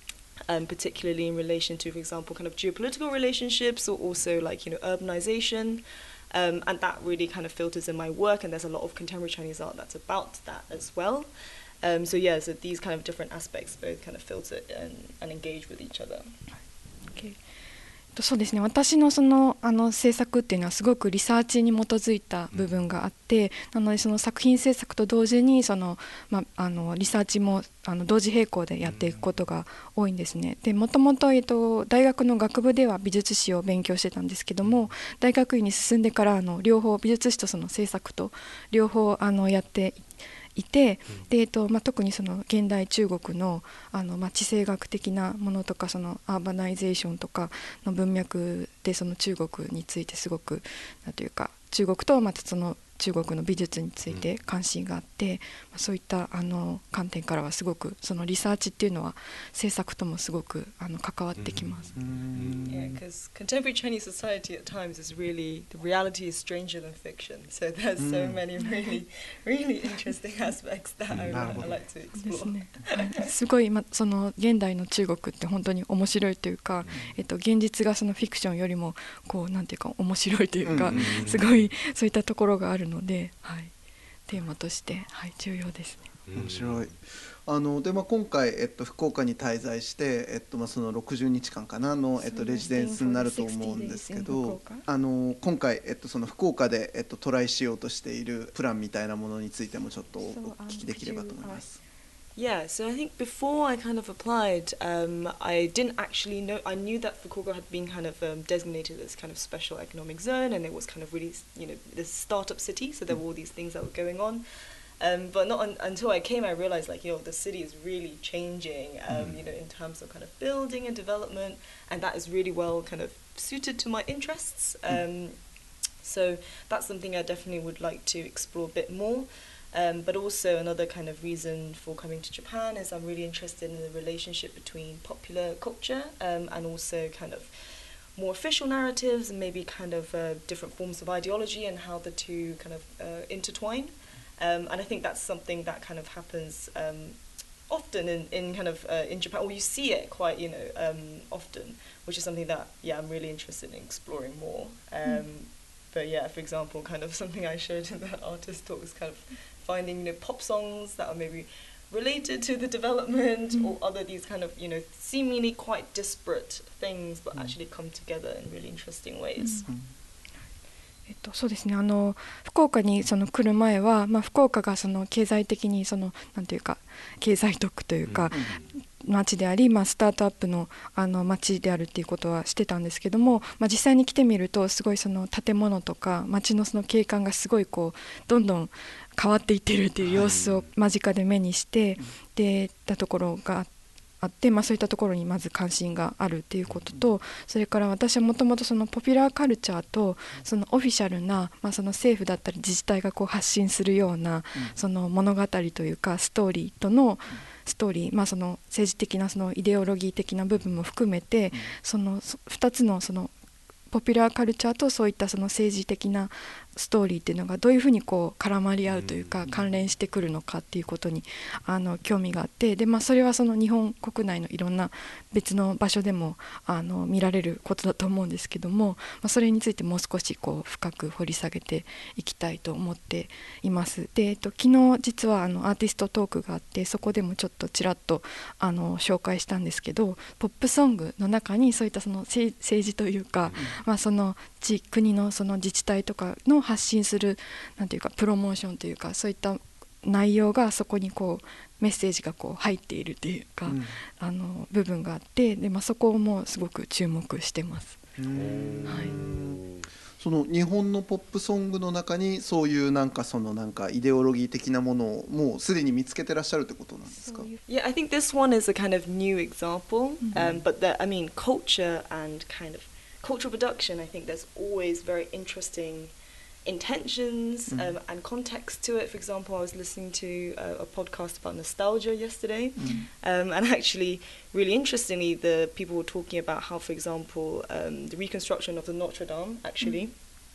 um, particularly in relation to, for example, kind of geopolitical relationships, or also like, you know, urbanization. Um, and that really kind of filters in my work, and there's a lot of contemporary Chinese art that's about that as well. Um, so yeah, so these kind of different aspects both kind of filter and, and engage with each other. Okay. そうですね、私のそのあの制作っていうのはすごくリサーチに基づいた部分があって、なのでその作品制作と同時にその、まあ、あのリサーチもあの同時並行でやっていくことが多いんですね。でもともと、えっと、大学の学部では美術史を勉強してたんですけども、大学院に進んでからあの両方美術史とその制作と両方あのやっていて、で、えっとまあ、特にその現代中国の、あの、まあ、地政学的なものとか、そのアーバナイゼーションとかの文脈でその中国についてすごくなんというか、中国とまたその中国の美術について関心があって、まあ、そういったあの観点からはすごくそのリサーチっていうのは制作ともすごくあの関わってきます。 Yeah, because contemporary Chinese society at times is really, the reality is stranger than fiction. So there's so many really, really interesting aspects that I would like to explore. すごい、ま、その現代の中国って本当に面白いというか、えっと、現実がそのフィクションよりもこうなんていうか面白いというか、すごいそういったところがあるので、はい、テーマとして、はい、重要ですね。 面白い。あので、まあ、今回、えっと、福岡に滞在して、えっとまあ、そのろくじゅうにちかんかなの、えっと、レジデンスになると思うんですけど、あの今回、えっと、その福岡で、えっと、トライしようとしているプランみたいなものについてもちょっとお聞きできればと思います。 Yeah, so I think before I kind of applied, um, I didn't actually know, I knew that Fukuoka had been kind of um, designated as kind of special economic zone, and it was kind of really, you know, this startup city, so there were all these things that were going on. Um, but not un- until I came, I realized, like, you know, the city is really changing, um, mm. you know, in terms of kind of building and development, and that is really well kind of suited to my interests. Um, So that's something I definitely would like to explore a bit more. Um, but also another kind of reason for coming to Japan is I'm really interested in the relationship between popular culture um, and also kind of more official narratives and maybe kind of uh, different forms of ideology and how the two kind of uh, intertwine. Um, and I think that's something that kind of happens um, often in, in kind of uh, in Japan, or you see it quite, you know, um, often, which is something that, yeah, I'm really interested in exploring more. Um, mm. But yeah, for example, kind of something I showed in the artist talk was kind of finding, you know, pop songs that are maybe related to the development mm. or other these kind of, you know, seemingly quite disparate things but mm. actually come together in really interesting ways. Mm. えっと、そうですね、あの福岡にその来る前は、まあ、福岡がその経済的にそのなんていうか経済特区というか、うん、町であり、まあ、スタートアップの、あの町であるっていうことはしてたんですけども、まあ、実際に来てみるとすごいその建物とか町のその景観がすごいこうどんどん変わっていってるっていう様子を間近で目にして、はい、でたところがあって。あって、まあ、そういったところにまず関心があるっていうことと、それから私はもともとそのポピュラーカルチャーとそのオフィシャルな、まあ、その政府だったり自治体がこう発信するようなその物語というかストーリーとのストーリー、まあ、その政治的なそのイデオロギー的な部分も含めてそのふたつのそのポピュラーカルチャーとそういったその政治的なストーリーっていうのがどういうふうにこう絡まり合うというか関連してくるのかっていうことにあの興味があって、で、まあ、それはその日本国内のいろんな別の場所でもあの見られることだと思うんですけども、まあ、それについてもう少しこう深く掘り下げていきたいと思っています。で、えっと、昨日実はあのアーティストトークがあって、そこでもちょっとちらっとあの紹介したんですけど、ポップソングの中にそういったその政治というか、まあ、その地国のその自治体とかの発信するなんていうかプロモーションというかそういった内容がそこにこうメッセージがこう入っているというか、うん、あの部分があって、で、まあ、そこもすごく注目してます。はい、 その日本のポップソングの中にそういうなんかそのなんかイデオロギー的なものをもうすでに見つけてらっしゃるってことなんですか？ Yeah, I think this one is a kind of new example, um, but the, I mean culture and kind of cultural production, I think there's always very interesting intentions um, mm. and context to it. For example, I was listening to a, a podcast about nostalgia yesterday, mm. um, and actually, really interestingly, the people were talking about how, for example, um, the reconstruction of the Notre Dame, actually,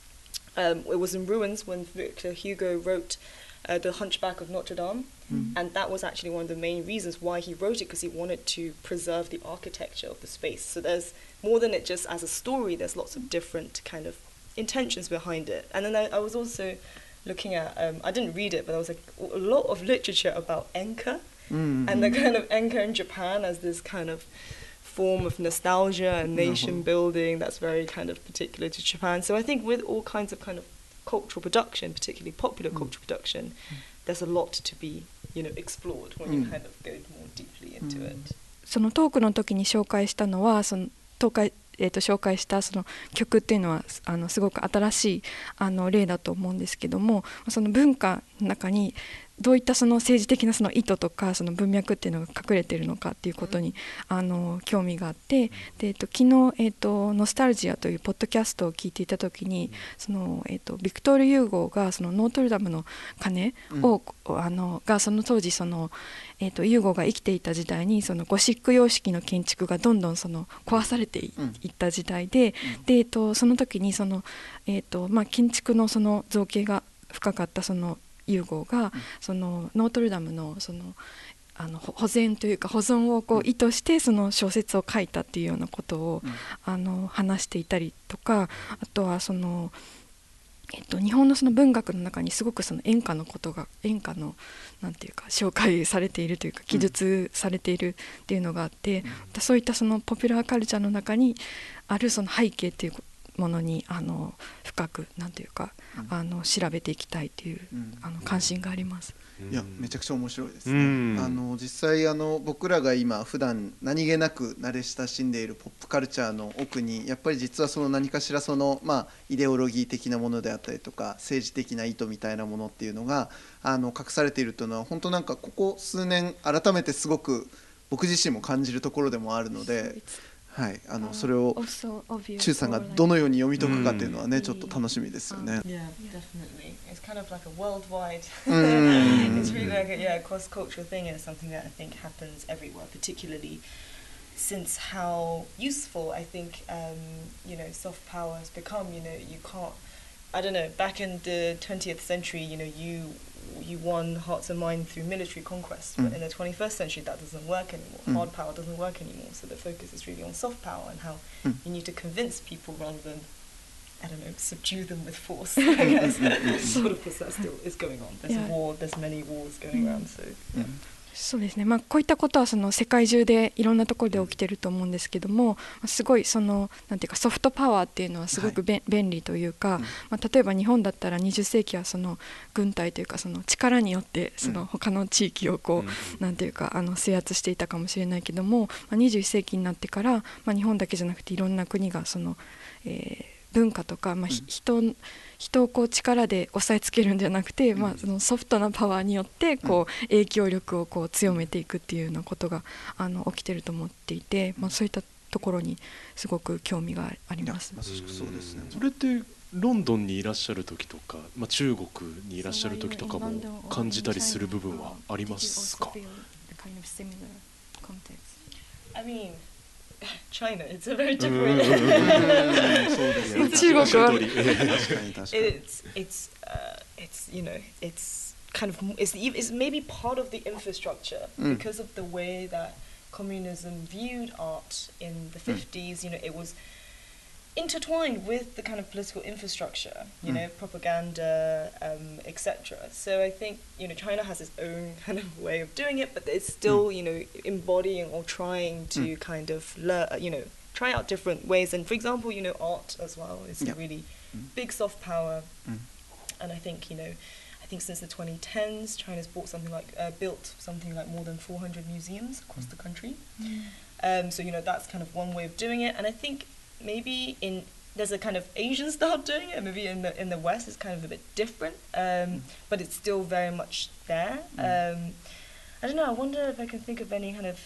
mm. um, it was in ruins when Victor Hugo wrote uh, The Hunchback of Notre Dame, mm. and that was actually one of the main reasons why he wrote it, because he wanted to preserve the architecture of the space. So there's more than it just as a story, there's lots of different kind of intentions behind it. And then I, I was also looking at, um, I didn't read it, but there was like a lot of literature about enka, mm-hmm. and the kind of enka in Japan as this kind of form of nostalgia and nation building that's very kind of particular to Japan. So I think with all kinds of kind of cultural production, particularly popular mm. cultural production, mm. there's a lot to be, you know, explored when mm. you kind of go more deeply into mm. it. そのトークの時に紹介したのはその東海えー、と紹介したその曲っていうのはあのすごく新しいあの例だと思うんですけども、その文化の中にどういったその政治的なその意図とかその文脈っていうのが隠れているのかっていうことにあの興味があって、で、えー、と昨日、えー、とノスタルジアというポッドキャストを聞いていた時にその、えー、とビクトール・ユーゴーがそのノートルダムの鐘を、うん、あのがその当時その、えー、とユーゴーが生きていた時代にそのゴシック様式の建築がどんどんその壊されて い,、うん、いった時代で、うん、で、えー、とその時にその、えーとまあ、建築のその造形が深かったそのユーゴーがそのノートルダムのそのあの保全というか保存をこう意図してその小説を書いたっていうようなことをあの話していたりとか、あとはその、えっと、日本のその文学の中にすごくその演歌のことが演歌のなんていうか紹介されているというか記述されているっていうのがあって、そういったそのポピュラーカルチャーの中にあるその背景っていうものにあの深くなんていうか、うん、あの調べていきたいという、うん、あの関心があります。 いやめちゃくちゃ面白いですね。うん、あの実際あの僕らが今普段何気なく慣れ親しんでいるポップカルチャーの奥にやっぱり実はその何かしらその、まあ、イデオロギー的なものであったりとか政治的な意図みたいなものっていうのがあの隠されているというのは本当なんかここ数年改めてすごく僕自身も感じるところでもあるので。 はい、あのそれをチュウさんがどのように読み解くかっていうのはね、ちょっと楽しみですよね。 Yeah, definitely. It's kind of like a worldwide. It's really like a yeah cross-cultural thing, and it's something that I think happens everywhere, particularly since how useful I think um, you know soft power has become. You know, you can't. I don't know. Back in the twentieth century, you know, you you won hearts and minds through military conquest, but mm. in the twenty-first century that doesn't work anymore. Mm. Hard power doesn't work anymore, so the focus is really on soft power and how mm. you need to convince people rather than, I don't know, subdue them with force. I guess. But of course that still is going on. There's yeah. a war, there's many wars going around, so yeah. そうですね、まあ、こういったことはその世界中でいろんなところで起きてると思うんですけども、すごいそのなんていうかソフトパワーっていうのはすごくべ、はい、便利というか、まあ、例えば日本だったらにじゅっ世紀はその軍隊というかその力によってその他の地域をこうなんていうかあの制圧していたかもしれないけども、まあ、にじゅういっ世紀になってから、まあ、日本だけじゃなくていろんな国がその、えー文化とか、まあ、人, 人をこう力で押さえつけるんじゃなくて、まあ、そのソフトなパワーによってこう影響力をこう強めていくっていうようなことがあの起きてると思っていて、まあ、そういったところにすごく興味があります。 そうですね。 それってロンドンにいらっしゃる時とか、まあ、中国にいらっしゃる時とかも感じたりする部分はありますか？ I mean, China, it's a very different. it's it's uh, it's you know it's kind of it's it's maybe part of the infrastructure mm. because of the way that communism viewed art in the fifties. Mm. You know, it was intertwined with the kind of political infrastructure, you mm. know, propaganda, um, et cetera. So I think, you know, China has its own kind of way of doing it, but it's still, mm. you know, embodying or trying to mm. kind of learn, you know, try out different ways. And for example, you know, art as well is yeah. a really mm. big soft power. Mm. And I think, you know, I think since the twenty tens, China's bought something like, uh, built something like more than four hundred museums across mm. the country. Mm. Um, so, you know, that's kind of one way of doing it. And I think maybe in there's a kind of Asian style of doing it. Maybe in the in the West it's kind of a bit different, um, mm. but it's still very much there. Mm. Um, I don't know. I wonder if I can think of any kind of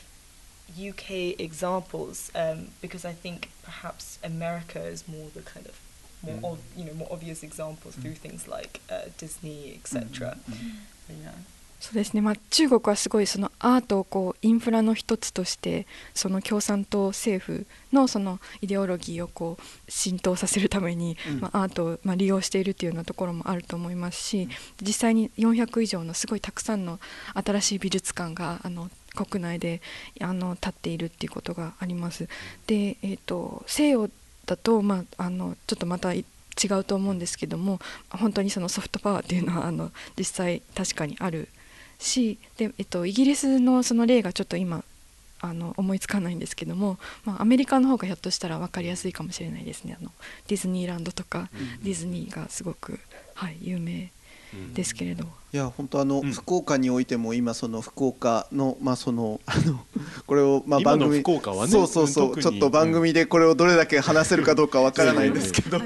U K examples, um, because I think perhaps America is more the kind of more mm. ob, you know more obvious examples mm. through things like uh, Disney, et cetera. Mm. Mm. Yeah. そうですね、まあ、中国はすごいそのアートをこうインフラの一つとしてその共産党政府のそのイデオロギーをこう浸透させるために、うんまあ、アートをまあ利用しているというようなところもあると思いますし、実際によんひゃく以上のすごいたくさんの新しい美術館があの国内であの立っているっていうことがあります。で、えーと、西洋だと、まあ、あのちょっとまた違うと思うんですけども、本当にそのソフトパワーっていうのはあの実際確かにあるし、で、えっと、イギリスのその例がちょっと今あの思いつかないんですけども、まあ、アメリカの方がひょっとしたら分かりやすいかもしれないですね。あのディズニーランドとか、うん、ディズニーがすごく、はい、有名ですけれど、 いや本当あの、うん、福岡においても今その福岡のまあそのあのこれをまあ番組福岡はね、 そうそうそう、ちょっと番組でこれをどれだけ話せるかどうかわからないんですけど、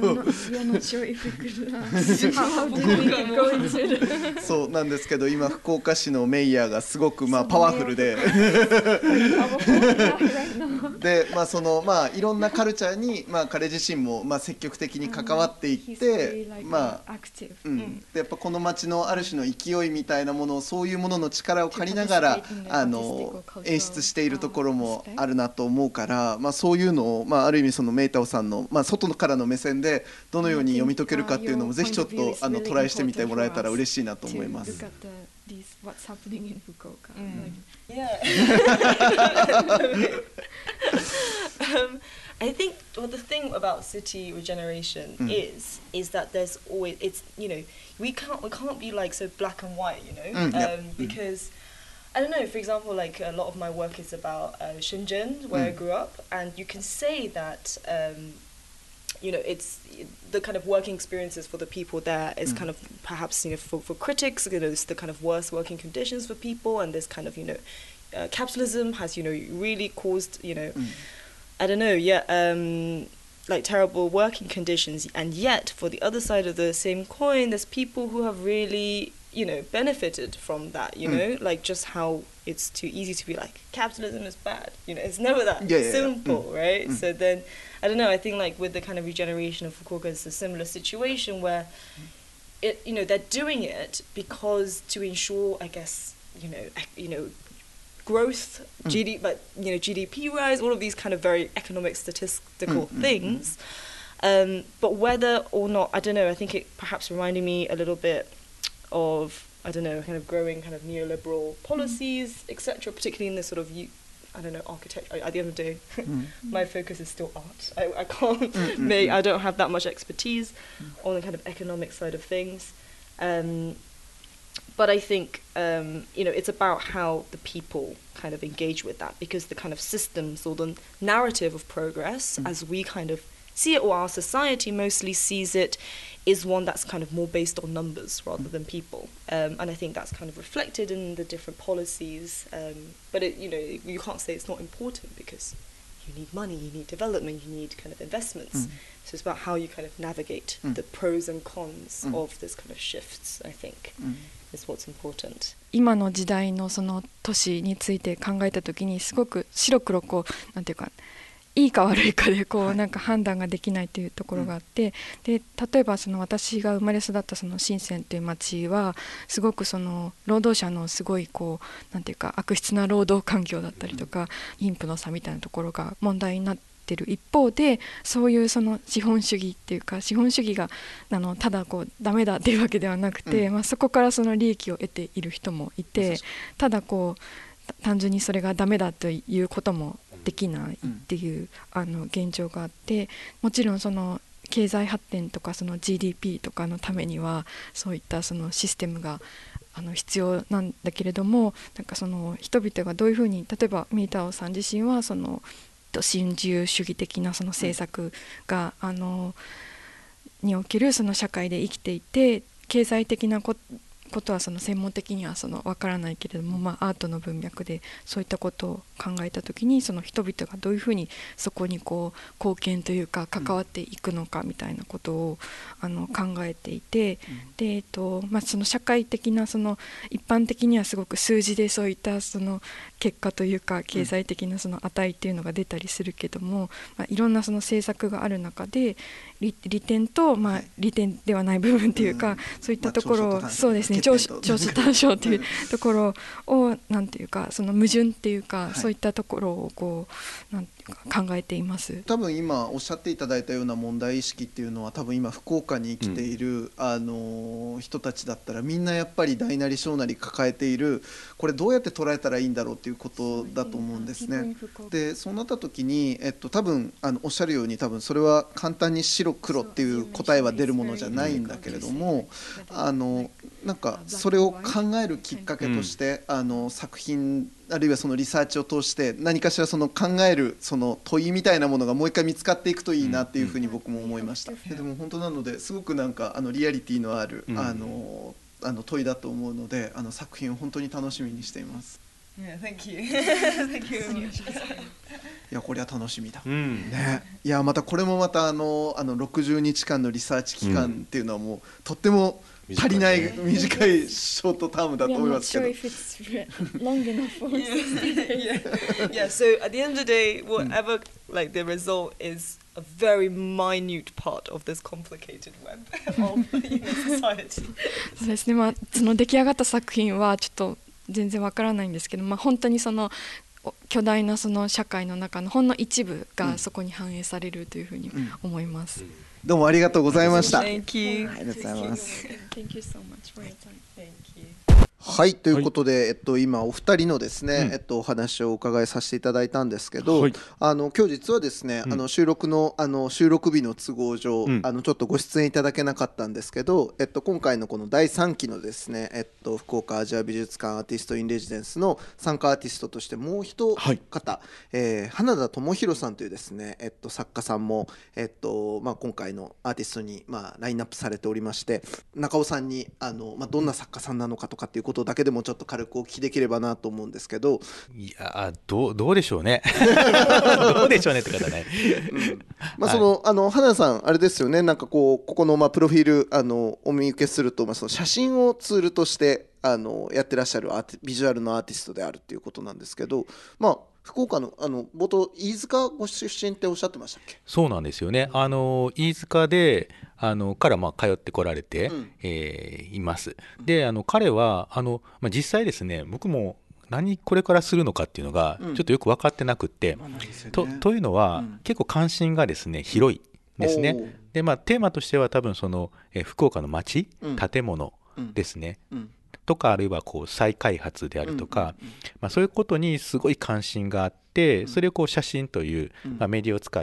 そうなんですけど、今福岡市のメイヤーがすごくまあパワフルででまあそのまあいろんなカルチャーにまあ彼自身もまあ積極的に関わっていって、まあうんでやっぱこの街のある種の勢いみたいなものを、そういうものの力を借りながらあの演出しているところもあるなと思うから、まあ、そういうのを、まあ、ある意味そのメイタオさんの、まあ、外からの目線でどのように読み解けるかっていうのもぜひちょっとあのトライしてみてもらえたら嬉しいなと思います。 I think well the thing about city regeneration mm. is is that there's always it's you know we can't we can't be like so black and white, you know, mm, um, yep. because I don't know, for example, like a lot of my work is about uh, Shenzhen where mm. I grew up, and you can say that um, you know it's the kind of working experiences for the people there is mm. kind of perhaps you know for, for critics, you know, it's the kind of worst working conditions for people, and this kind of you know uh, capitalism has you know really caused you know. Mm. I don't know, yeah, um, like terrible working conditions, and yet for the other side of the same coin, there's people who have really, you know, benefited from that, you know, mm. like just how it's too easy to be like, capitalism is bad, you know, it's never that yeah, yeah, simple, yeah. Mm. right? Mm. So then, I don't know, I think like with the kind of regeneration of Fukuoka, it's a similar situation where, it, you know, they're doing it because to ensure, I guess, you know, you know, growth, mm. G D, but, you know, G D P rise, all of these kind of very economic statistical mm, things. Mm, mm. Um, but whether or not, I don't know, I think it perhaps reminded me a little bit of, I don't know, kind of growing kind of neoliberal policies, mm. et cetera, particularly in this sort of, I don't know, architecture. At the end of the day, mm. my focus is still art. I, I can't mm, make, mm, I don't have that much expertise mm. on the kind of economic side of things. Um, but I think, um, you know, it's about how the people kind of engage with that, because the kind of systems or the narrative of progress, mm. as we kind of see it, or our society mostly sees it, is one that's kind of more based on numbers rather than people. Um, and I think that's kind of reflected in the different policies. Um, but, it, you know, you can't say it's not important, because you need money, you need development, you need kind of investments. Mm. So it's about how you kind of navigate mm. the pros and cons mm. of this kind of shifts, I think, mm. is what's important. 今の時代のその都市について考えたときに、すごく白黒こう、なんていうか、いいか悪いかでこうなんか判断ができないというところがあって、で例えばその私が生まれ育ったその深センという町はすごくその労働者のすごいこうなんていうか悪質な労働環境だったりとか貧富の差みたいなところが問題になっている一方で、そういうその資本主義っていうか資本主義があのただこうダメだっていうわけではなくて、うんまあ、そこからその利益を得ている人もいて、ただこう単純にそれがダメだということもできないっていう、うん、あの現状があって、もちろんその経済発展とかその ジーディーピー とかのためにはそういったそのシステムがあの必要なんだけれども、なんかその人々がどういうふうに、例えばミータオさん自身はその新自由主義的なその政策が、うん、あのにおけるその社会で生きていて、経済的なことことはその専門的にはその分からないけれども、まあ、アートの文脈でそういったことを考えたときに、その人々がどういうふうにそこにこう貢献というか関わっていくのかみたいなことをあの考えていて、で、えっとまあ、その社会的なその一般的にはすごく数字でそういったその結果というか経済的なその値っていうのが出たりするけども、まあ、いろんなその政策がある中で 利, 利点と、まあ、利点ではない部分というか、うん、そういったところを、まあ、そうですね、長所短所というところをなんていうかその矛盾っていうか、はい、そういったところをこうなんていうか考えています。 多分今おっしゃっていただいたような問題意識っていうのは、多分今福岡に生きている、うん、あの人たちだったらみんなやっぱり大なり小なり抱えている、これどうやって捉えたらいいんだろうっていうことだと思うんですね。でそうなった時に、えっと、多分あのおっしゃるように多分それは簡単に白黒っていう答えは出るものじゃないんだけれども、あのなんかそれを考えるきっかけとして、うん、あの作品あるいはそのリサーチを通して何かしらその考えるその問いみたいなものがもう一回見つかっていくといいなっていうふうに僕も思いました。で, でも本当なのですごくなんかあのリアリティのある、うん、あのあの問いだと思うので、あの作品を本当に楽しみにしています。 Yeah, thank you. Thank you very much. いやこれは楽しみだ、うんね、いやまたこれもまたあのあのろくじゅうにちかんのリサーチ期間っていうのはもう、うん、とっても足りない短いショートタームだと思いますけど。 Yeah, so at the end of the day, whatever like the result is a very minute part of this complicated web of human society. そうですね、まあその出来上がった作品はちょっと全然わからないんですけど、まあ、本当にその巨大なその社会の中のほんの一部がそこに反映されるというふうに思います、うんうん、 どうもありがとうございました。 Thank you. ありがとうございます。 Thank you so much for your time. Thank you. はいということで、はいえっと、今お二人のですね、うんえっと、お話をお伺いさせていただいたんですけど、はい、あの今日実はですね、うん、あの収録の、あの収録日の都合上、うん、あのちょっとご出演いただけなかったんですけど、えっと、今回のこのだいさんきのですね、えっと、福岡アジア美術館アーティストインレジデンスの参加アーティストとしてもう一方、はいえー、花田智博さんというですね、えっと、作家さんも、えっとまあ、今回のアーティストに、まあ、ラインナップされておりまして、中尾さんにあの、まあ、どんな作家さんなのかとかっていうことことだけでもちょっと軽くお聞きできればなと思うんですけど。 いやどう、どうでしょうねどうでしょうねって方ね、 うんまあそのはい、あの花さんあれですよね、なんかこうここのまあプロフィールあのお見受けすると、まあ、その写真をツールとしてあのやってらっしゃるアーティビジュアルのアーティストであるっていうことなんですけど、まあ福岡のあの冒頭飯塚ご出身っておっしゃってましたっけ？ そうなんですよね。あの飯塚であのからまあ通ってこられて、 うんえーいます。であの彼はあの、まあ、実際ですね僕も何これからするのかっていうのがちょっとよく分かってなくって、うんと, というのは、うん、結構関心がですね広いですね。で、まあ、テーマとしては多分その、え福岡の街、うん、建物ですね、うんうんとかあるいはこう再開発であるとか、うんうんうんまあ、そういうことにすごい関心があって、うん、それをこう写真という、まあ、メディアを使って、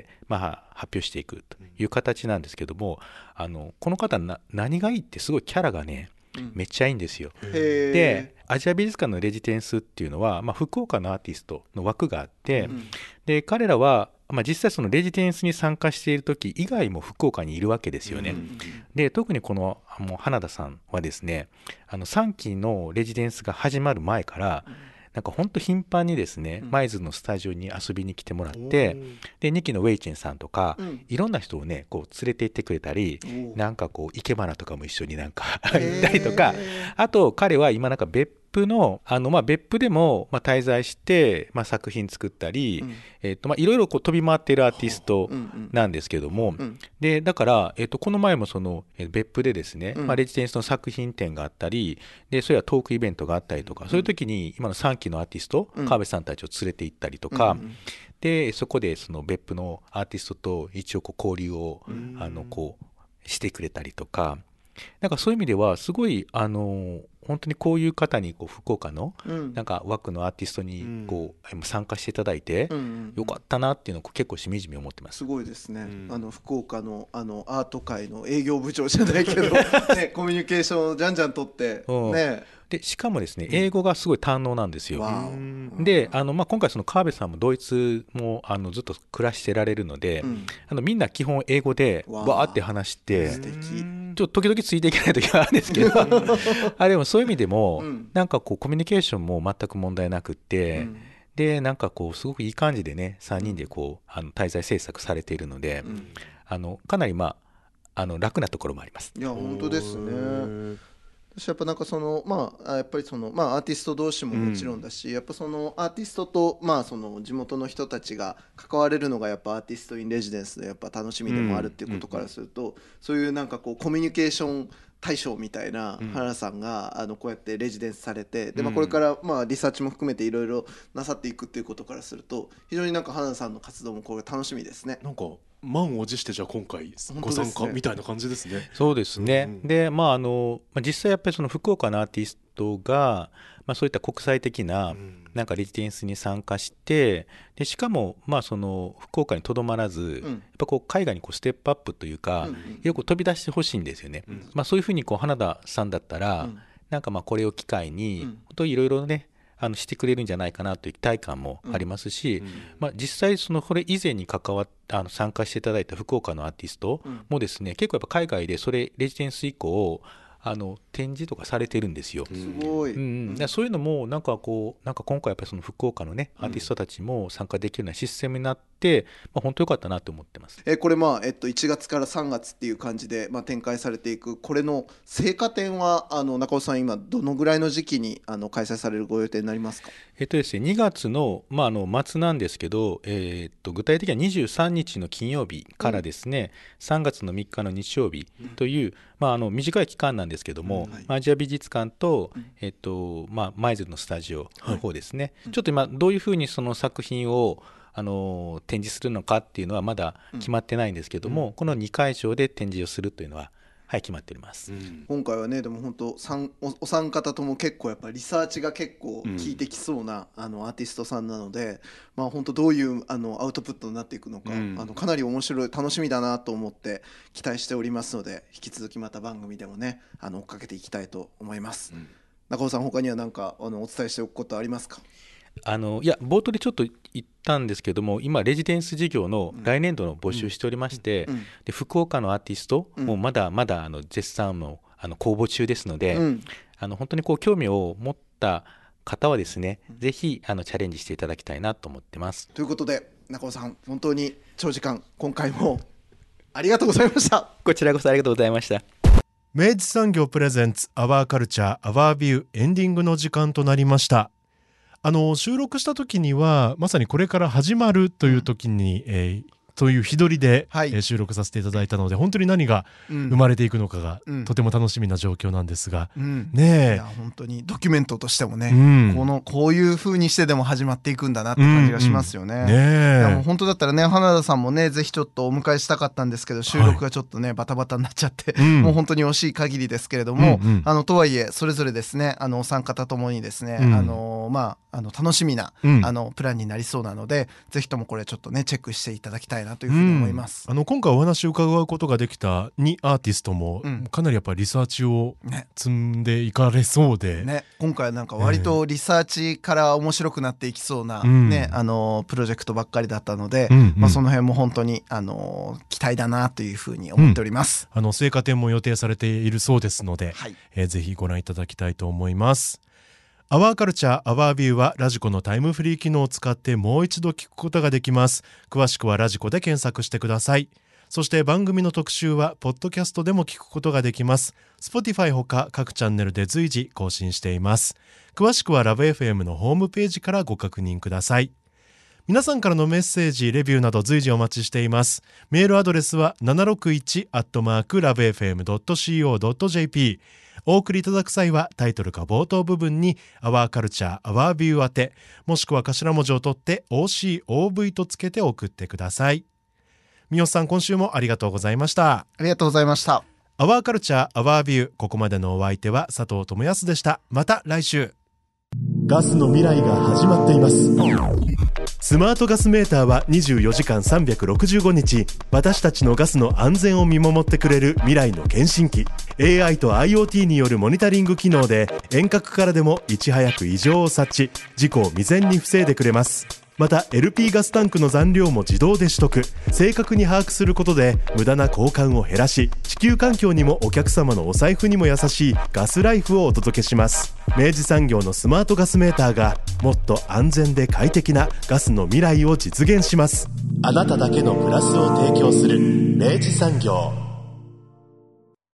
まあ、発表していくという形なんですけども、あのこの方な何がいいってすごいキャラがね、うん、めっちゃいいんですよ。でアジア美術館のレジデンスっていうのは、まあ、福岡のアーティストの枠があって、うん、で彼らはまあ、実際そのレジデンスに参加している時以外も福岡にいるわけですよね、うんうんうん、で特にこのもう花田さんはですねあのさんきのレジデンスが始まる前からなんか本当頻繁にですね、うん、舞鶴のスタジオに遊びに来てもらって、うん、でにきのウェイチェンさんとか、うん、いろんな人をねこう連れて行ってくれたり、なんかこう生け花とかも一緒になんか行ったりとか、あと彼は今なんか別府のあのまあ別府でもまあ滞在してまあ作品作ったり、うんえーとまあいろいろこう飛び回っているアーティストなんですけども、うんうん、でだからえーとこの前もその別府でですね、うんまあ、レジデンスの作品展があったりでそれはトークイベントがあったりとか、うん、そういう時に今のさんきのアーティスト、うん、川辺さんたちを連れて行ったりとか、うんうん、でそこでその別府のアーティストと一応こう交流を、うん、あのこうしてくれたりとか。なんかそういう意味ではすごいあの本当にこういう方にこう福岡のなんか枠のアーティストにこう、うん、参加していただいてよかったなっていうのを結構しみじみ思ってます。 すごいですね、うん、あの福岡の、あのアート界の営業部長じゃないけど、ね、コミュニケーションをじゃんじゃん取って、うんね、 でしかもですね英語がすごい堪能なんですよ。うん、であの、まあ、今回その川辺さんもドイツもあのずっと暮らしてられるので、うん、あのみんな基本英語でわーって話して素敵ちょっと時々ついていけない時はあるんですけどあでもそういう意味でも、うん、なんかこうコミュニケーションも全く問題なくって、うん、でなんかこうすごくいい感じでねさんにんでこうあの滞在制作されているので、うん、あのかなりまああの楽なところもあります。 いや本当ですね。私やっぱなんかそのまあやっぱりそのまあアーティスト同士ももちろんだし、うん、やっぱそのアーティストとまあその地元の人たちが関われるのがやっぱアーティストインレジデンスでやっぱ楽しみでもあるっていうことからすると、うんうん、そういうなんかこうコミュニケーション大将みたいな原さんがあのこうやってレジデンスされて、でまあこれからまあリサーチも含めていろいろなさっていくっていうことからすると非常になんか原さんの活動もこれ楽しみですね。 なんか満を持してじゃあ今回ご参加みたいな感じですね。 そうですね、うんうん、でまああの実際やっぱりその福岡のアーティストが、まあ、そういった国際的ななんかレジデンスに参加して、でしかもまあその福岡にとどまらず、うん、やっぱこう海外にこうステップアップというか、うんうん、よく飛び出してほしいんですよね、うんまあ、そういうふうにこう花田さんだったら、うん、なんかまあこれを機会に、うん、本当いろいろねあのしてくれるんじゃないかなという期待感もありますし、うんまあ、実際そのこれ以前に関わっあの参加していただいた福岡のアーティストもですね、うん、結構やっぱ海外でそれレジデンス以降あの展示とかされてるんですよ。 すごい、 うんうん、そういうのもなんかこうなんか今回やっぱりその福岡のねアーティストたちも参加できるようなシステムになって、まあ、本当良かったなと思ってます。 えこれまあ、えっと、いちがつからさんがつっていう感じで、まあ、展開されていくこれの成果展はあの中尾さん今どのぐらいの時期にあの開催されるご予定になりますか？ えっとですね、にがつの、まあ、あの末なんですけど、えー、っと具体的にはにじゅうさんにちの金曜日からですね、うん、さんがつのみっかの日曜日という、うんまあ、あの短い期間なんですけども、うんはい、アジア美術館と、えっとまあ、舞鶴のスタジオの方ですね、はい、ちょっと今どういうふうにその作品をあの展示するのかっていうのはまだ決まってないんですけども、うん、このにかいしょうで展示をするというのははい決まっております、うん、 今回はねでも本当お, お三方とも結構やっぱリサーチが結構効いてきそうな、うん、あのアーティストさんなので、まあ、本当どういうあのアウトプットになっていくのか、うん、あのかなり面白い楽しみだなと思って期待しておりますので引き続きまた番組でもねあの追っかけていきたいと思います、うん、中尾さん他には何かあのお伝えしておくことありますか？ あのいや冒頭でちょっと言ったんですけども今レジデンス事業の来年度の募集しておりまして、うんうん、で福岡のアーティスト、うん、もうまだまだあの絶賛のあの公募中ですので、うん、 あの本当にこう興味を持った方はですね、うん、ぜひあのチャレンジしていただきたいなと思ってます。 ということで中尾さん、本当に長時間今回もありがとうございました。 こちらこそありがとうございました。 明治産業プレゼンツアワーカルチャーアワービュー、エンディングの時間となりました。あの収録した時にはまさにこれから始まるという時に、うん、えーという日取りで、はい、えー、収録させていただいたので、本当に何が生まれていくのかが、うん、とても楽しみな状況なんですが、うん、ねえ、いや本当にドキュメントとしてもね、うん、このこういう風にしてでも始まっていくんだなって感じがしますよね。うんうん、ねえ、いやもう本当だったらね、花田さんもねぜひちょっとお迎えしたかったんですけど、収録がちょっとね、はい、バタバタになっちゃって、うん、もう本当に惜しい限りですけれども、うんうん、あのとはいえそれぞれですね、あのお三方ともにですね、うん、あのまああの楽しみな、うん、あのプランになりそうなので、ぜひともこれちょっとねチェックしていただきたいなというふうに思います。 うん、あの今回お話を伺うことができたにアーティストも、うん、かなりやっぱりリサーチを積んでいかれそうで、 ねね、今回はなんか割とリサーチから面白くなっていきそうな、ね、うん、あのプロジェクトばっかりだったので、うんうん、まあ、その辺も本当にあの期待だなというふうに思っております。 うん、あの成果展も予定されているそうですので、はい、えー、ぜひご覧いただきたいと思います。アワーカルチャーアワービューはラジコのタイムフリー機能を使ってもう一度聞くことができます。詳しくはラジコで検索してください。そして番組の特集はポッドキャストでも聞くことができます。 Spotify ほか各チャンネルで随時更新しています。詳しくはラブ エフエム のホームページからご確認ください。皆さんからのメッセージ、レビューなど随時お待ちしています。メールアドレスは ななろくいち アットマーク ラブエフエム ドット シーオー ドット ジェーピー。お送りいただく際はタイトルか冒頭部分にアワーカルチャーアワービュー宛て、もしくは頭文字を取って オーシーオーブイ とつけて送ってください。三好さん、今週もありがとうございました。 ありがとうございました。 アワーカルチャーアワービュー、ここまでのお相手は佐藤智康でした。また来週。ガスの未来が始まっています。スマートガスメーターはにじゅうよじかんさんびゃくろくじゅうごにち私たちのガスの安全を見守ってくれる未来の検診機。 エーアイ と アイオーティー によるモニタリング機能で遠隔からでもいち早く異常を察知、事故を未然に防いでくれます。また エルピー ガスタンクの残量も自動で取得、正確に把握することで無駄な交換を減らし、地球環境にもお客様のお財布にも優しいガスライフをお届けします。明治産業のスマートガスメーターがもっと安全で快適なガスの未来を実現します。あなただけのプラスを提供する明治産業。